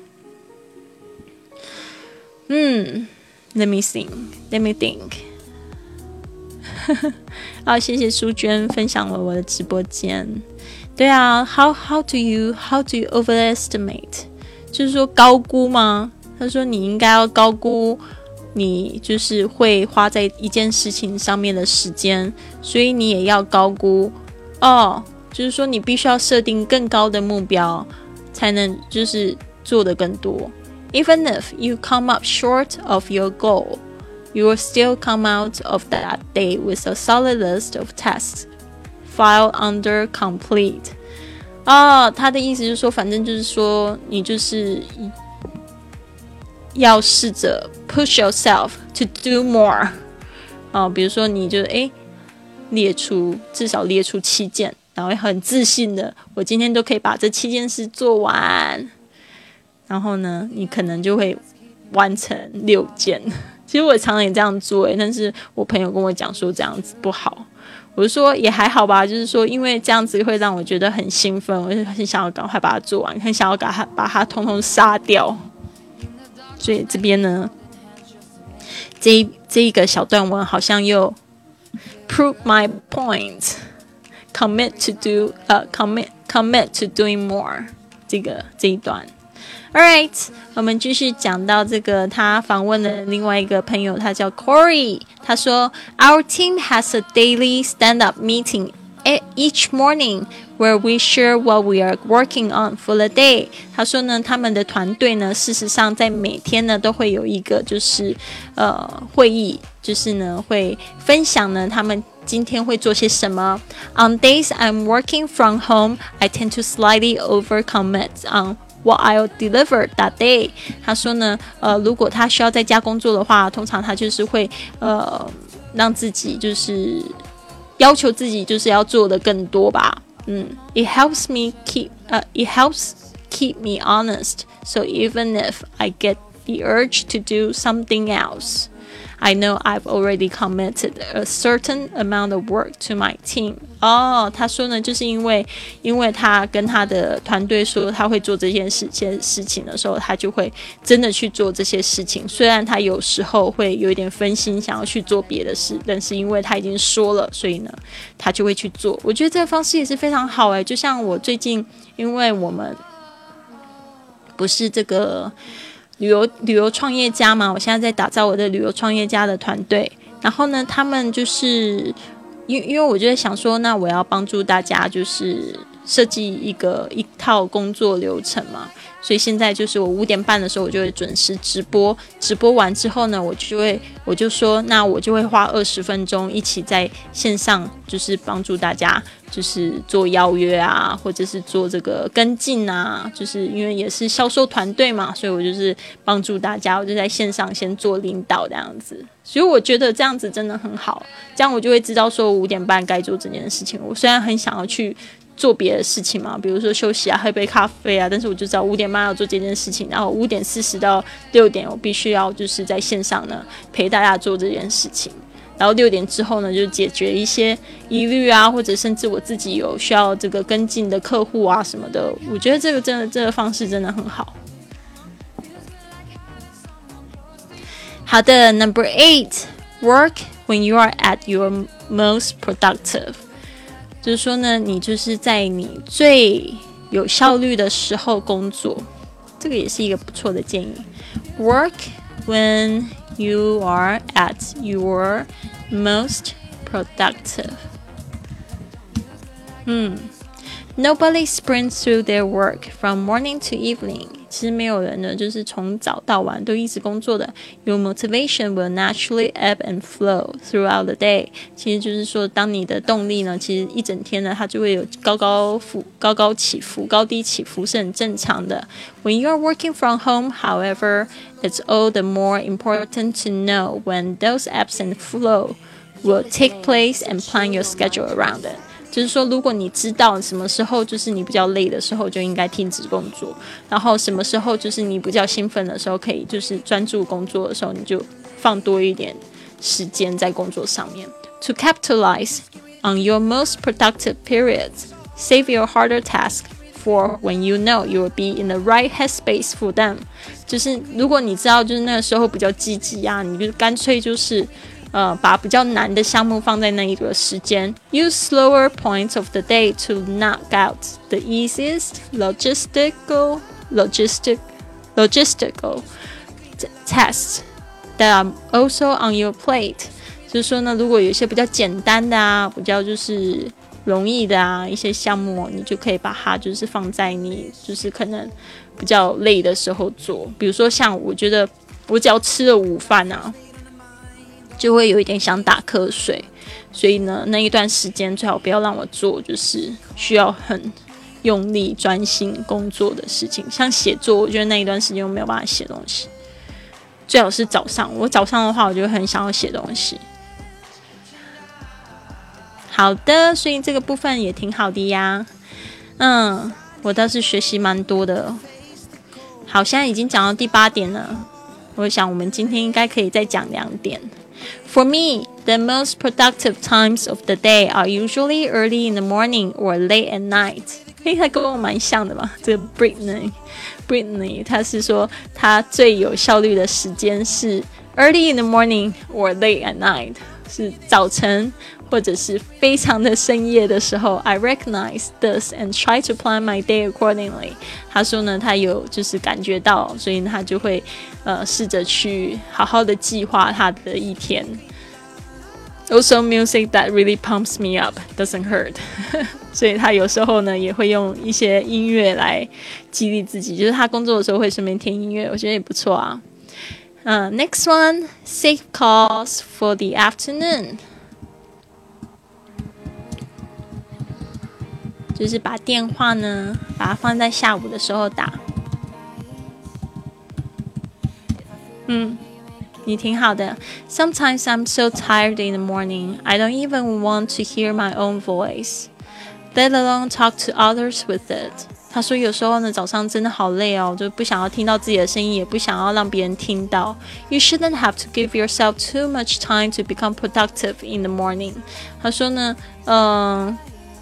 嗯 ，Let me think, let me think. 好，谢谢淑娟分享了我的直播间。对啊 ，How how do you how do you overestimate？ 就是说高估吗？他说你应该要高估你就是会花在一件事情上面的时间，所以你也要高估哦。就是说你必须要设定更高的目标，才能就是做得更多。Even if you come up short of your goal.You will still come out of that day with a solid list of tasks filed under complete. 哦，他的意思就是说，反正就是说，你就是要试着 push yourself to do more. 哦，比如说你就诶列出至少列出七件，然后很自信的，我今天都可以把这七件事做完。然后呢，你可能就会完成六件。其实我常常也这样做，但是我朋友跟我讲说这样子不好，我就说也还好吧，就是说因为这样子会让我觉得很兴奋，我就很想要赶快把它做完，很想要把它把它通通杀掉。所以这边呢，这这一个小段文好像又 prove my point, commit to do, 呃、uh, commit commit to doing more 这个这一段。Alright， 我们继续讲到这个，他访问了另外一个朋友，他叫 Corey。他说 ，Our team has a daily stand-up meeting each morning where we share what we are working on for the day。他说呢，他们的团队呢，事实上在每天呢都会有一个就是呃会议，就是呢会分享呢他们今天会做些什么。On days I'm working from home, I tend to slightly overcommit on.What I'll deliver that day， 他说呢，呃，如果他需要在家工作的话，通常他就是会呃让自己就是要求自己就是要做的更多吧。嗯 ，It helps me keep， 呃、uh, ，It helps keep me honest. So even if I get the urge to do something else.I know I've already committed a certain amount of work to my team. 哦，他说呢，就是因为因为他跟他的团队说他会做这件事件事情的时候，他就会真的去做这些事情。虽然他有时候会有一点分心，想要去做别的事，但是因为他已经说了，所以呢，他就会去做。我觉得这个方式也是非常好诶，就像我最近，因为我们不是这个。旅游旅游创业家嘛，我现在在打造我的旅游创业家的团队。然后呢，他们就是因因为我就在想说，那我要帮助大家就是设计一个一套工作流程嘛。所以现在就是我五点半的时候，我就会准时直播。直播完之后呢，我就会我就说，那我就会花二十分钟一起在线上，就是帮助大家，就是做邀约啊，或者是做这个跟进啊。就是因为也是销售团队嘛，所以我就是帮助大家，我就在线上先做领导这样子。所以我觉得这样子真的很好，这样我就会知道说我五点半该做这件事情。我虽然很想要去做别的事情嘛，比如说休息啊，喝杯咖啡啊，但是我就知道五点半要做这件事情，然后五点四十到六点我必须要就是在线上呢陪大家做这件事情，然后六点之后呢就解决一些疑虑啊，或者甚至我自己有需要这个跟进的客户啊什么的，我觉得这个真的这个方式真的很好。好的 ，Number eight, work when you are at your most productive。就是说呢，你就是在你最有效率的时候工作，这个也是一个不错的建议。Work when you are at your most productive. 嗯 Nobody sprints through their work from morning to evening. 其实没有人呢就是从早到晚都一直工作的。 Your motivation will naturally ebb and flow throughout the day， 其实就是说当你的动力呢其实一整天呢它就会有高高伏高高起伏高低起伏是很正常的。 When you are working from home, however, it's all the more important to know when those ebbs and flow will take place and plan your schedule around it。就是说如果你知道什么时候就是你比较累的时候就应该停止工作，然后什么时候就是你比较兴奋的时候可以就是专注工作的时候你就放多一点时间在工作上面。 To capitalize on your most productive periods, save your harder tasks for when you know you will be in the right headspace for them。 就是如果你知道就是那个时候比较积极啊，你就干脆就是呃，把比较难的项目放在那一个时间。 Use slower points of the day to knock out the easiest logistical logistic logistical tasks that are also on your plate。 就是说呢，如果有一些比较简单的啊，比较就是容易的啊一些项目，你就可以把它就是放在你就是可能比较累的时候做。比如说像我觉得我只要吃了午饭啊就会有一点想打瞌睡，所以呢那一段时间最好不要让我做就是需要很用力专心工作的事情。像写作我觉得那一段时间我没有办法写东西，最好是早上，我早上的话我就很想要写东西。好的，所以这个部分也挺好的呀。嗯，我倒是学习蛮多的。好，现在已经讲到第八点了，我想我们今天应该可以再讲两点。For me, the most productive times of the day are usually early in the morning or late at night。 诶，他跟我蛮像的嘛，这个 Brittany Brittany 他是说他最有效率的时间是 early in the morning or late at night， 是早晨或者是非常的深夜的时候。 I recognize this and try to plan my day accordingly。 他说呢他有就是感觉到，所以他就会呃试着去好好的计划他的一天。 Also music that really pumps me up doesn't hurt 所以他有时候呢也会用一些音乐来激励自己，就是他工作的时候会顺便听音乐，我觉得也不错啊。uh, Next one, save calls for the afternoon，就是把电话呢把它放在下午的时候打。嗯，你挺好的。 Sometimes I'm so tired in the morning, I don't even want to hear my own voice, let alone talk to others with it。 他说有时候呢早上真的好累哦，就不想要听到自己的声音，也不想要让别人听到。 You shouldn't have to give yourself too much time to become productive in the morning。 他说呢嗯、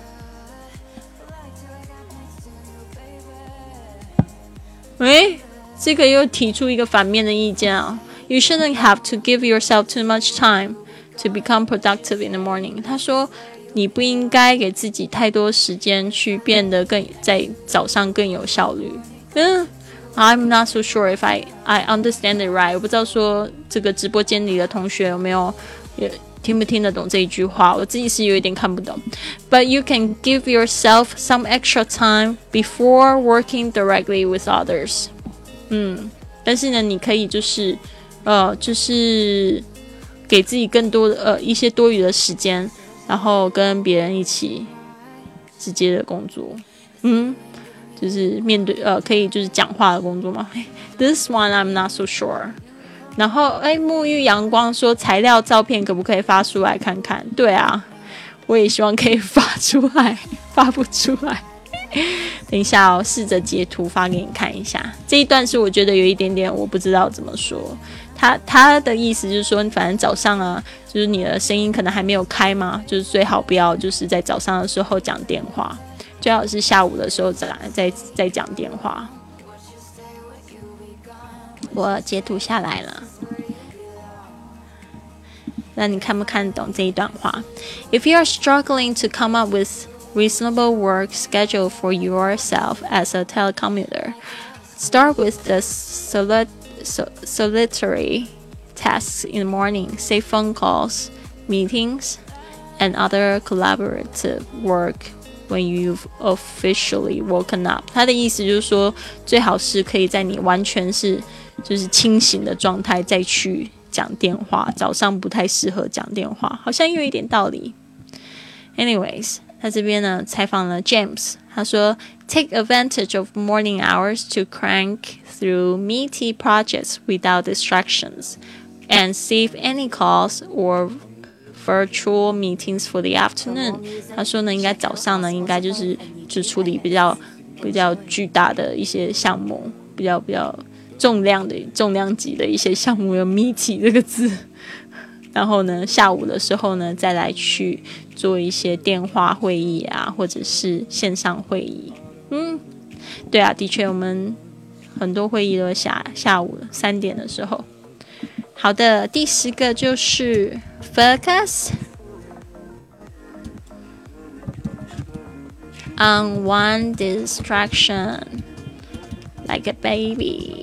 呃诶，这个又提出一个反面的意见啊。 You shouldn't have to give yourself too much time to become productive in the morning。 他说你不应该给自己太多时间去变得更在早上更有效率。嗯 I'm not so sure if I, I understand it right。 我不知道说这个直播间里的同学有没有也听不听得懂这一句话，我自己是有一点看不懂。 But you can give yourself some extra time before working directly with others。 嗯，但是呢你可以就是呃就是给自己更多的呃一些多余的时间，然后跟别人一起直接的工作。嗯，就是面对呃可以就是讲话的工作吗？ This one I'm not so sure。 然后哎，沐浴阳光说材料照片可不可以发出来看看？对啊，我也希望可以发出来，发不出来。等一下哦，试着截图发给你看一下。这一段是我觉得有一点点我不知道怎么说。他他的意思就是说，反正早上啊，就是你的声音可能还没有开嘛，就是最好不要就是在早上的时候讲电话，最好是下午的时候再再再讲电话。我截图下来了，那你看不看懂这一段话？ If you are struggling to come up with reasonable work schedule for yourself as a telecommuter, start with the solid, solitary tasks in the morning, say phone calls, meetings, and other collaborative work when you've officially woken up。 他的意思就是说，最好是可以在你完全是就是清醒的状态再去讲电话，早上不太适合讲电话，好像有一点道理。 Anyways， 他这边呢采访了 James， 他说 Take advantage of morning hours to crank through meaty projects without distractions and save any calls or virtual meetings for the afternoon。 他说呢，应该早上呢应该就是就处理比较比较巨大的一些项目，比较比较重量的重量级的一些项目，有 meaty 这个字。然后呢，下午的时候呢，再来去做一些电话会议啊，或者是线上会议。嗯，对啊，的确，我们很多会议都下下午三点的时候。好的，第十个就是 focus on one distraction like a baby。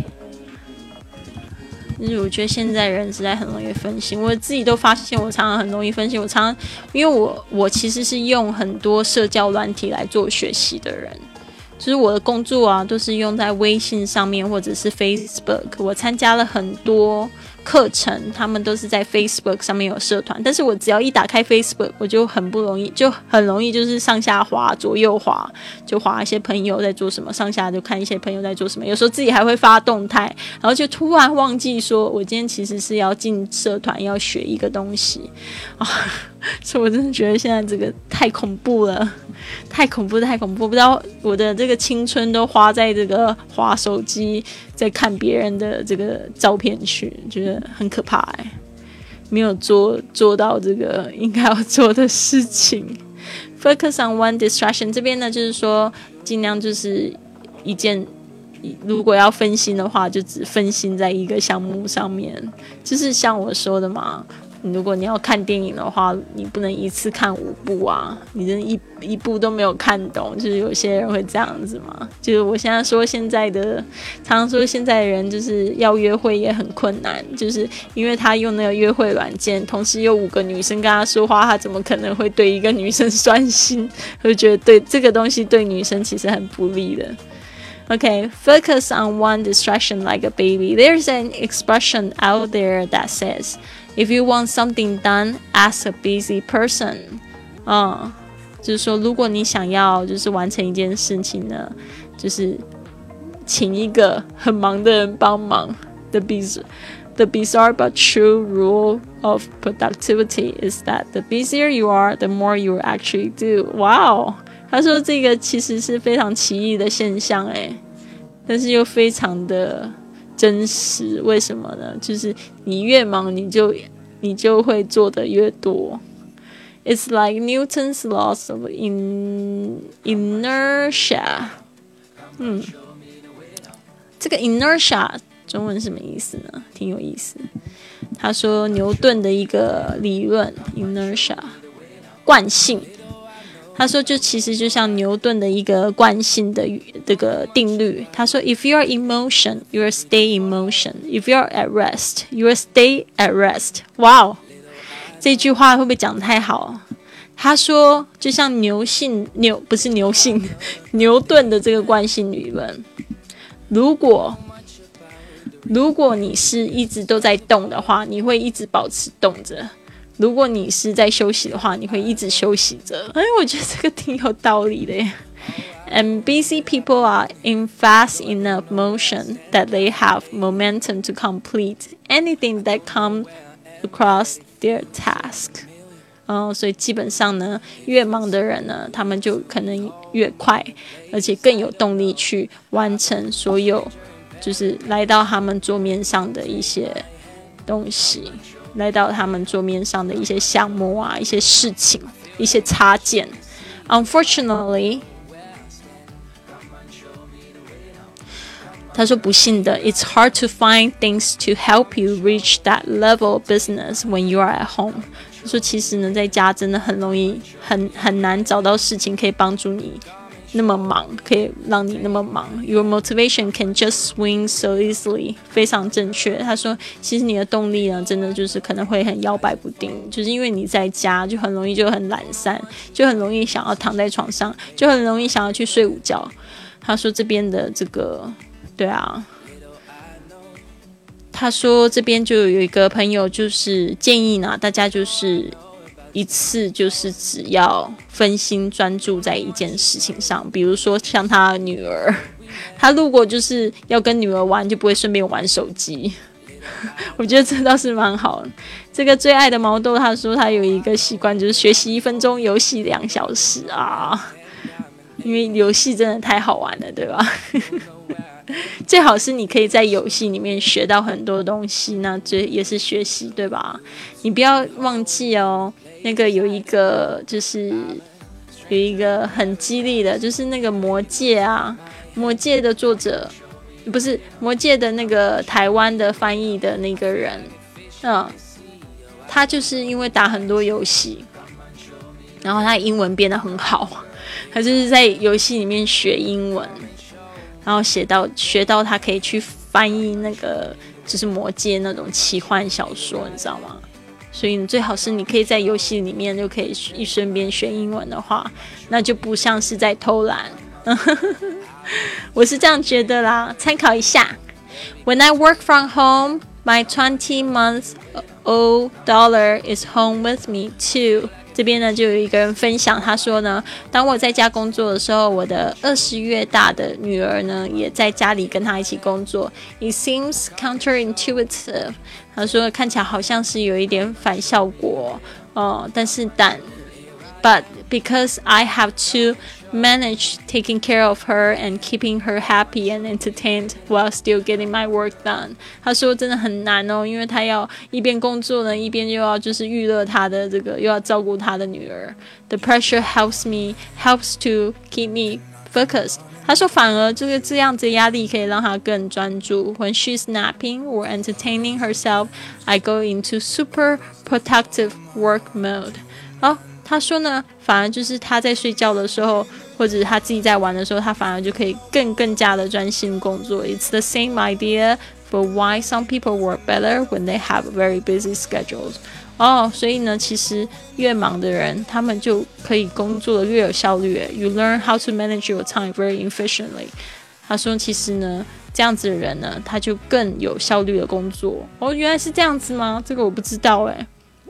就是我觉得现在人实在很容易分心，我自己都发现我常常很容易分心。我常常因为我我其实是用很多社交软体来做学习的人，就是我的工作啊都是用在微信上面或者是 Facebook。 我参加了很多课程，他们都是在 Facebook 上面有社团，但是我只要一打开 Facebook， 我就很不容易，就很容易就是上下滑左右滑，就滑一些朋友在做什么，上下就看一些朋友在做什么，有时候自己还会发动态，然后就突然忘记说我今天其实是要进社团要学一个东西啊，所以我真的觉得现在这个太恐怖了，太恐怖太恐怖，不知道我的这个青春都花在这个滑手机在看别人的这个照片去，觉得很可怕哎，没有做做到这个应该要做的事情。Focus on one distraction 这边呢，就是说尽量就是一件，如果要分心的话，就只分心在一个项目上面，就是像我说的嘛。如果你要看电影的话，你不能一次看五部啊，你真的一一部都没有看懂，就是有些人会这样子嘛。就是我现在说现在的，常常说现在的人就是要约会也很困难，就是因为他用那个约会软件，同时有五个女生跟他说话，他怎么可能会对一个女生专心？我就觉得对这个东西对女生其实很不利的。Okay, focus on one distraction like a baby. There's an expression out there that says, if you want something done, ask a busy person. 嗯，就是说如果你想要就是完成一件事情呢，就是请一个很忙的人帮忙。The bizarre, the bizarre but true rule of productivity is that the busier you are, the more you actually do. Wow!他说这个其实是非常奇异的现象诶，但是又非常的真实。为什么呢？就是你越忙你就你就会做的越多。 It's like Newton's laws of in, inertia。 嗯，这个 inertia 中文是什么意思呢？挺有意思。他说牛顿的一个理论 inertia 惯性，他说就其实就像牛顿的一个惯性的这个定律。他说 If you are in motion, you will stay in motion. If you are at rest, you will stay at rest. Wow， 这句话会不会讲得太好？他说就像牛性牛不是牛性牛顿的这个惯性理论，如果如果你是一直都在动的话，你会一直保持动着，如果你是在休息的话，你会一直休息着。哎，我觉得这个挺有道理的耶。And busy people are in fast enough motion that they have momentum to complete anything that comes across their task. 嗯，所以基本上呢，越忙的人呢，他们就可能越快，而且更有动力去完成所有就是来到他们桌面上的一些东西。来到他们桌面上的一些项目啊，一些事情，一些插件。Unfortunately， 他说不幸的 ，It's hard to find things to help you reach that level of business when you are at home。他说其实呢，在家真的很容易，很很难找到事情可以帮助你那么忙，可以让你那么忙。Your motivation can just swing so easily， 非常正确。他说，其实你的动力呢，真的就是可能会很摇摆不定，就是因为你在家就很容易就很懒散，就很容易想要躺在床上，就很容易想要去睡午觉。他说这边的这个，对啊。他说这边就有一个朋友就是建议呢，大家就是一次就是只要分心专注在一件事情上，比如说像他女儿，他如果就是要跟女儿玩，就不会顺便玩手机。我觉得这倒是蛮好的。这个最爱的毛豆他说他有一个习惯，就是学习一分钟，游戏两小时啊，因为游戏真的太好玩了，对吧？最好是你可以在游戏里面学到很多东西，那这也是学习，对吧？你不要忘记哦，那个有一个就是有一个很激励的，就是那个魔戒啊，魔戒的作者不是魔戒的那个台湾的翻译的那个人，嗯，他就是因为打很多游戏，然后他英文变得很好，他就是在游戏里面学英文。然后写到学到他可以去翻译那个就是魔戒那种奇幻小说，你知道吗？所以你最好是你可以在游戏里面就可以一顺便学英文的话，那就不像是在偷懒。我是这样觉得啦，参考一下。When I work from home, my twenty month old daughter is home with me too.这边呢就有一个人分享，他说呢，当我在家工作的时候，我的二十月大的女儿呢也在家里跟他一起工作。It seems counterintuitive， 他说看起来好像是有一点反效果，哦，但是但 But because I have to manage taking care of her and keeping her happy and entertained while still getting my work done. 他说真的很难哦，因为他要一边工作呢，一边又要就是娱乐他的这个，又要照顾他的女儿。The pressure helps me, helps to keep me focused. 他说反而这个这样子的压力可以让他更专注。When she's napping or entertaining herself, I go into super productive work mode. 哦，他说呢，反而就是他在睡觉的时候，或者他自己在玩的时候，他反而就可以更更加的专心工作。It's the same idea for why some people work better when they have very busy schedules. 哦，所以呢，其实越忙的人，他们就可以工作的越有效率。You learn how to manage your time very efficiently. 他说，其实呢，这样子的人呢，他就更有效率的工作。哦，原来是这样子吗？这个我不知道哎。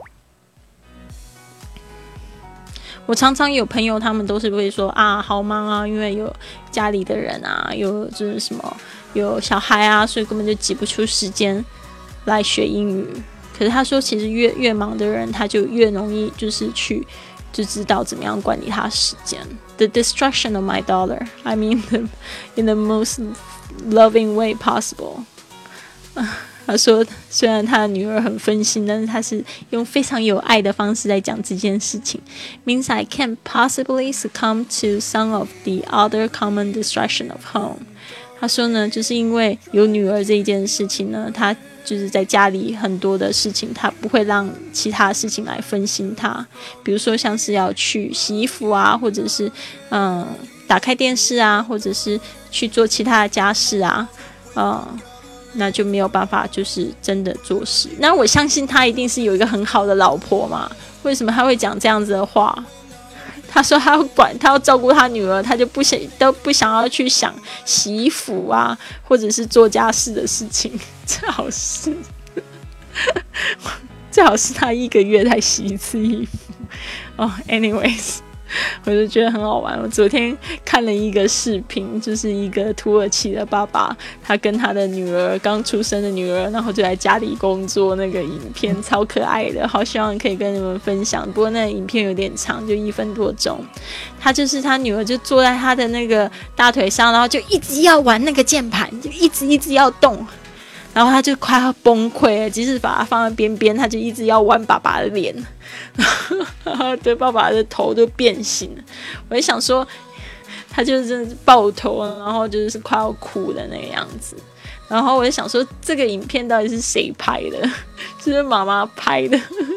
我常常有朋友，他们都是会说啊，好忙啊，因为有家里的人啊，有就是什么有小孩啊，所以根本就挤不出时间来学英语。可是他说，其实越越忙的人，他就越容易就是去就知道怎么样管理他时间。The destruction of my daughter, I mean, the, in the most loving way possible. 他说，虽然他的女儿很分心，但是他是用非常有爱的方式来讲这件事情。Means I can't possibly succumb to some of the other common distraction of home. 他说呢，就是因为有女儿这一件事情呢，他就是在家里很多的事情，他不会让其他事情来分心他。比如说像是要去洗衣服啊，或者是嗯打开电视啊，或者是去做其他的家事啊，嗯。那就没有办法就是真的做事。那我相信他一定是有一个很好的老婆嘛，为什么他会讲这样子的话？他说他要管，他要照顾他女儿，他就不想都不想要去想洗衣服啊，或者是做家事的事情。最好是最好是他一个月才洗一次衣服。哦、oh, ，anyways。我就觉得很好玩。我昨天看了一个视频，就是一个土耳其的爸爸，他跟他的女儿刚出生的女儿，然后就在家里工作，那个影片超可爱的，好希望可以跟你们分享。不过那个影片有点长，就一分多钟。他就是他女儿就坐在他的那个大腿上，然后就一直要玩那个键盘，就一直一直要动。然后他就快要崩溃了，即使把他放在边边，他就一直要玩爸爸的脸，然后对爸爸的头就变形了。我就想说，他就真的是抱头，然后就是快要哭的那个样子。然后我就想说，这个影片到底是谁拍的？是不是妈妈拍的？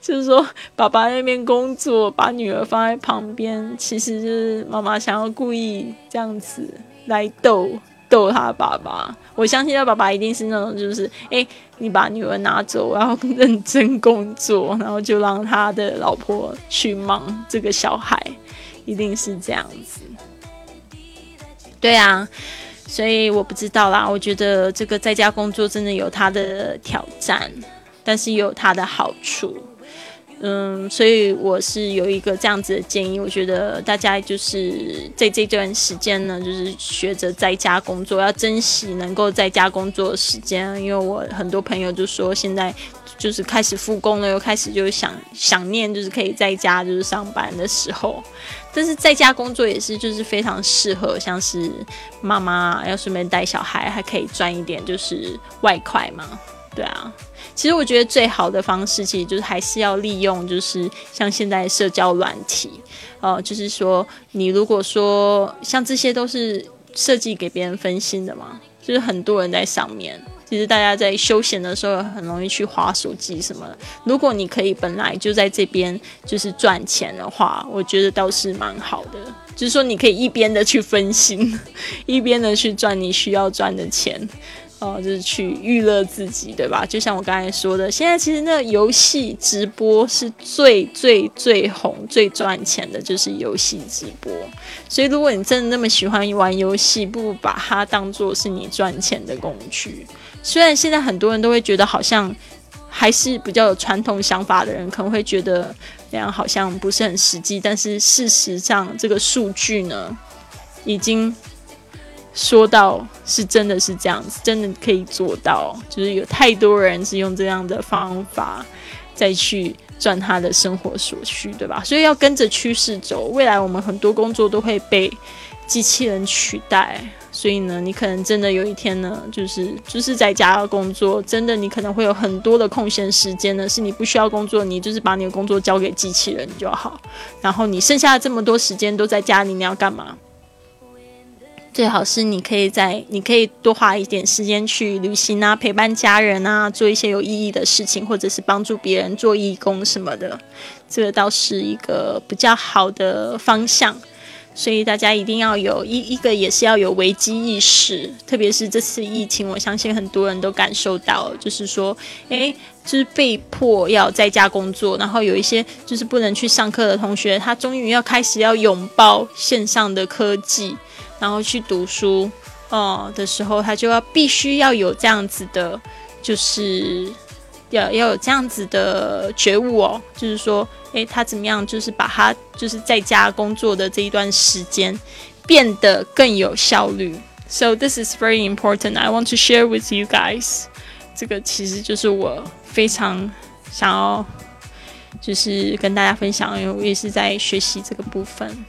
就是说爸爸那边工作，把女儿放在旁边，其实就是妈妈想要故意这样子来逗逗他爸爸。我相信他爸爸一定是那种就是哎，你把女儿拿走，我要认真工作，然后就让他的老婆去忙这个小孩，一定是这样子。对啊，所以我不知道啦，我觉得这个在家工作真的有它的挑战，但是也有它的好处。嗯，所以我是有一个这样子的建议，我觉得大家就是在这段时间呢，就是学着在家工作，要珍惜能够在家工作的时间。因为我很多朋友就说，现在就是开始复工了，又开始就想想念，就是可以在家就是上班的时候。但是在家工作也是就是非常适合，像是妈妈要顺便带小孩，还可以赚一点就是外快嘛，对啊。其实我觉得最好的方式，其实就是还是要利用，就是像现在社交软体，呃，就是说你如果说像这些都是设计给别人分心的嘛，就是很多人在上面，其实大家在休闲的时候很容易去滑手机什么的。如果你可以本来就在这边就是赚钱的话，我觉得倒是蛮好的。就是说你可以一边的去分心，一边的去赚你需要赚的钱。哦，就是去娱乐自己，对吧？就像我刚才说的，现在其实那个游戏直播是最最最红、最赚钱的，就是游戏直播。所以，如果你真的那么喜欢玩游戏，不如把它当作是你赚钱的工具。虽然现在很多人都会觉得，好像还是比较有传统想法的人，可能会觉得那样好像不是很实际，但是事实上，这个数据呢，已经说到是真的是这样子，真的可以做到，就是有太多人是用这样的方法再去赚他的生活所需，对吧？所以要跟着趋势走，未来我们很多工作都会被机器人取代，所以呢，你可能真的有一天呢，就是就是在家工作，真的你可能会有很多的空闲时间呢，是你不需要工作，你就是把你的工作交给机器人就好，然后你剩下的这么多时间都在家里，你要干嘛？最好是你可以在你可以多花一点时间去旅行啊，陪伴家人啊，做一些有意义的事情，或者是帮助别人做义工什么的，这个倒是一个比较好的方向。所以大家一定要有一一个也是要有危机意识，特别是这次疫情，我相信很多人都感受到，就是说诶就是被迫要在家工作，然后有一些就是不能去上课的同学，他终于要开始要拥抱线上的科技，然后去读书哦、呃、的时候，他就要必须要有这样子的，就是要要有这样子的觉悟哦，就是说，诶，他怎么样，就是把他就是在家工作的这一段时间变得更有效率。So this is very important. I want to share with you guys. 这个其实就是我非常想要就是跟大家分享，因为我也是在学习这个部分。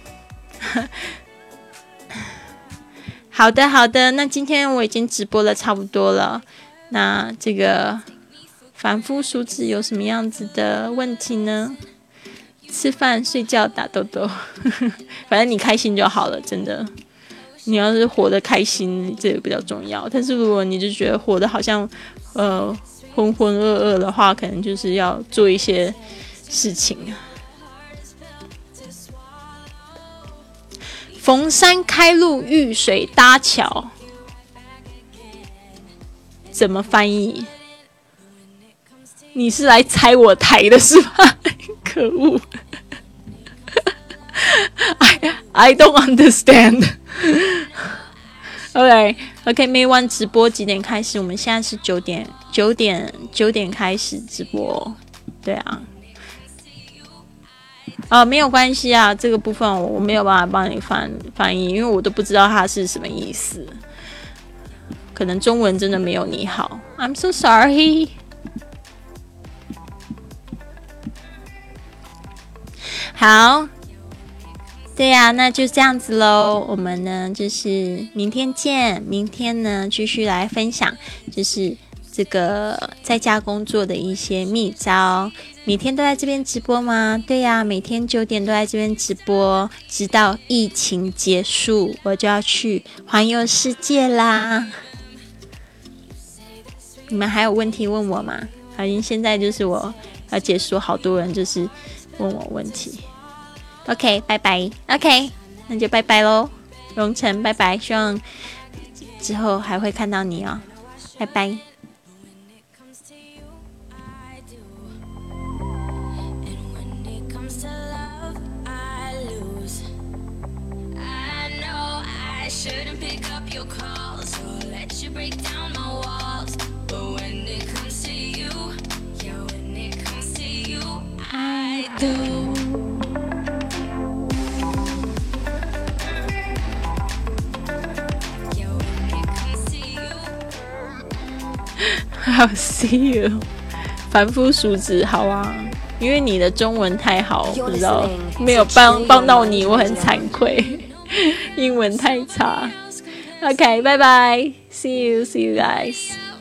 好的好的，那今天我已经直播了差不多了，那这个凡夫俗子有什么样子的问题呢？吃饭睡觉打豆豆反正你开心就好了，真的，你要是活得开心这个比较重要，但是如果你就觉得活得好像呃浑浑噩噩的话，可能就是要做一些事情。逢山开路，遇水搭桥，怎么翻译？你是来拆我台的是吧？可恶！I I don't understand. OK OK， 每晚直播几点开始？我们现在是九点九点九点开始直播，对啊。啊，没有关系啊，这个部分我没有办法帮你翻翻译，因为我都不知道它是什么意思。可能中文真的没有你好 ，I'm so sorry。好，对呀、啊，那就这样子咯。我们呢，就是明天见。明天呢，继续来分享，就是这个在家工作的一些秘招。每天都在这边直播吗？对呀、啊，每天九点都在这边直播，直到疫情结束，我就要去环游世界啦。你们还有问题问我吗？好，现在就是我要结束，好多人就是问我问题。OK， 拜拜。OK， 那就拜拜咯，荣成，拜拜。希望之后还会看到你哦，拜拜。Shouldn't pick up your calls or let you break down my walls, but when it comes to you, yeah, when it comes to you, I do. Yeah, when it comes to you, I'll see you. 凡夫俗子，好啊，因为你的中文太好，不知道没有帮帮到你，我很惭愧。英文太差。OK， 拜拜 ，See you, see you guys.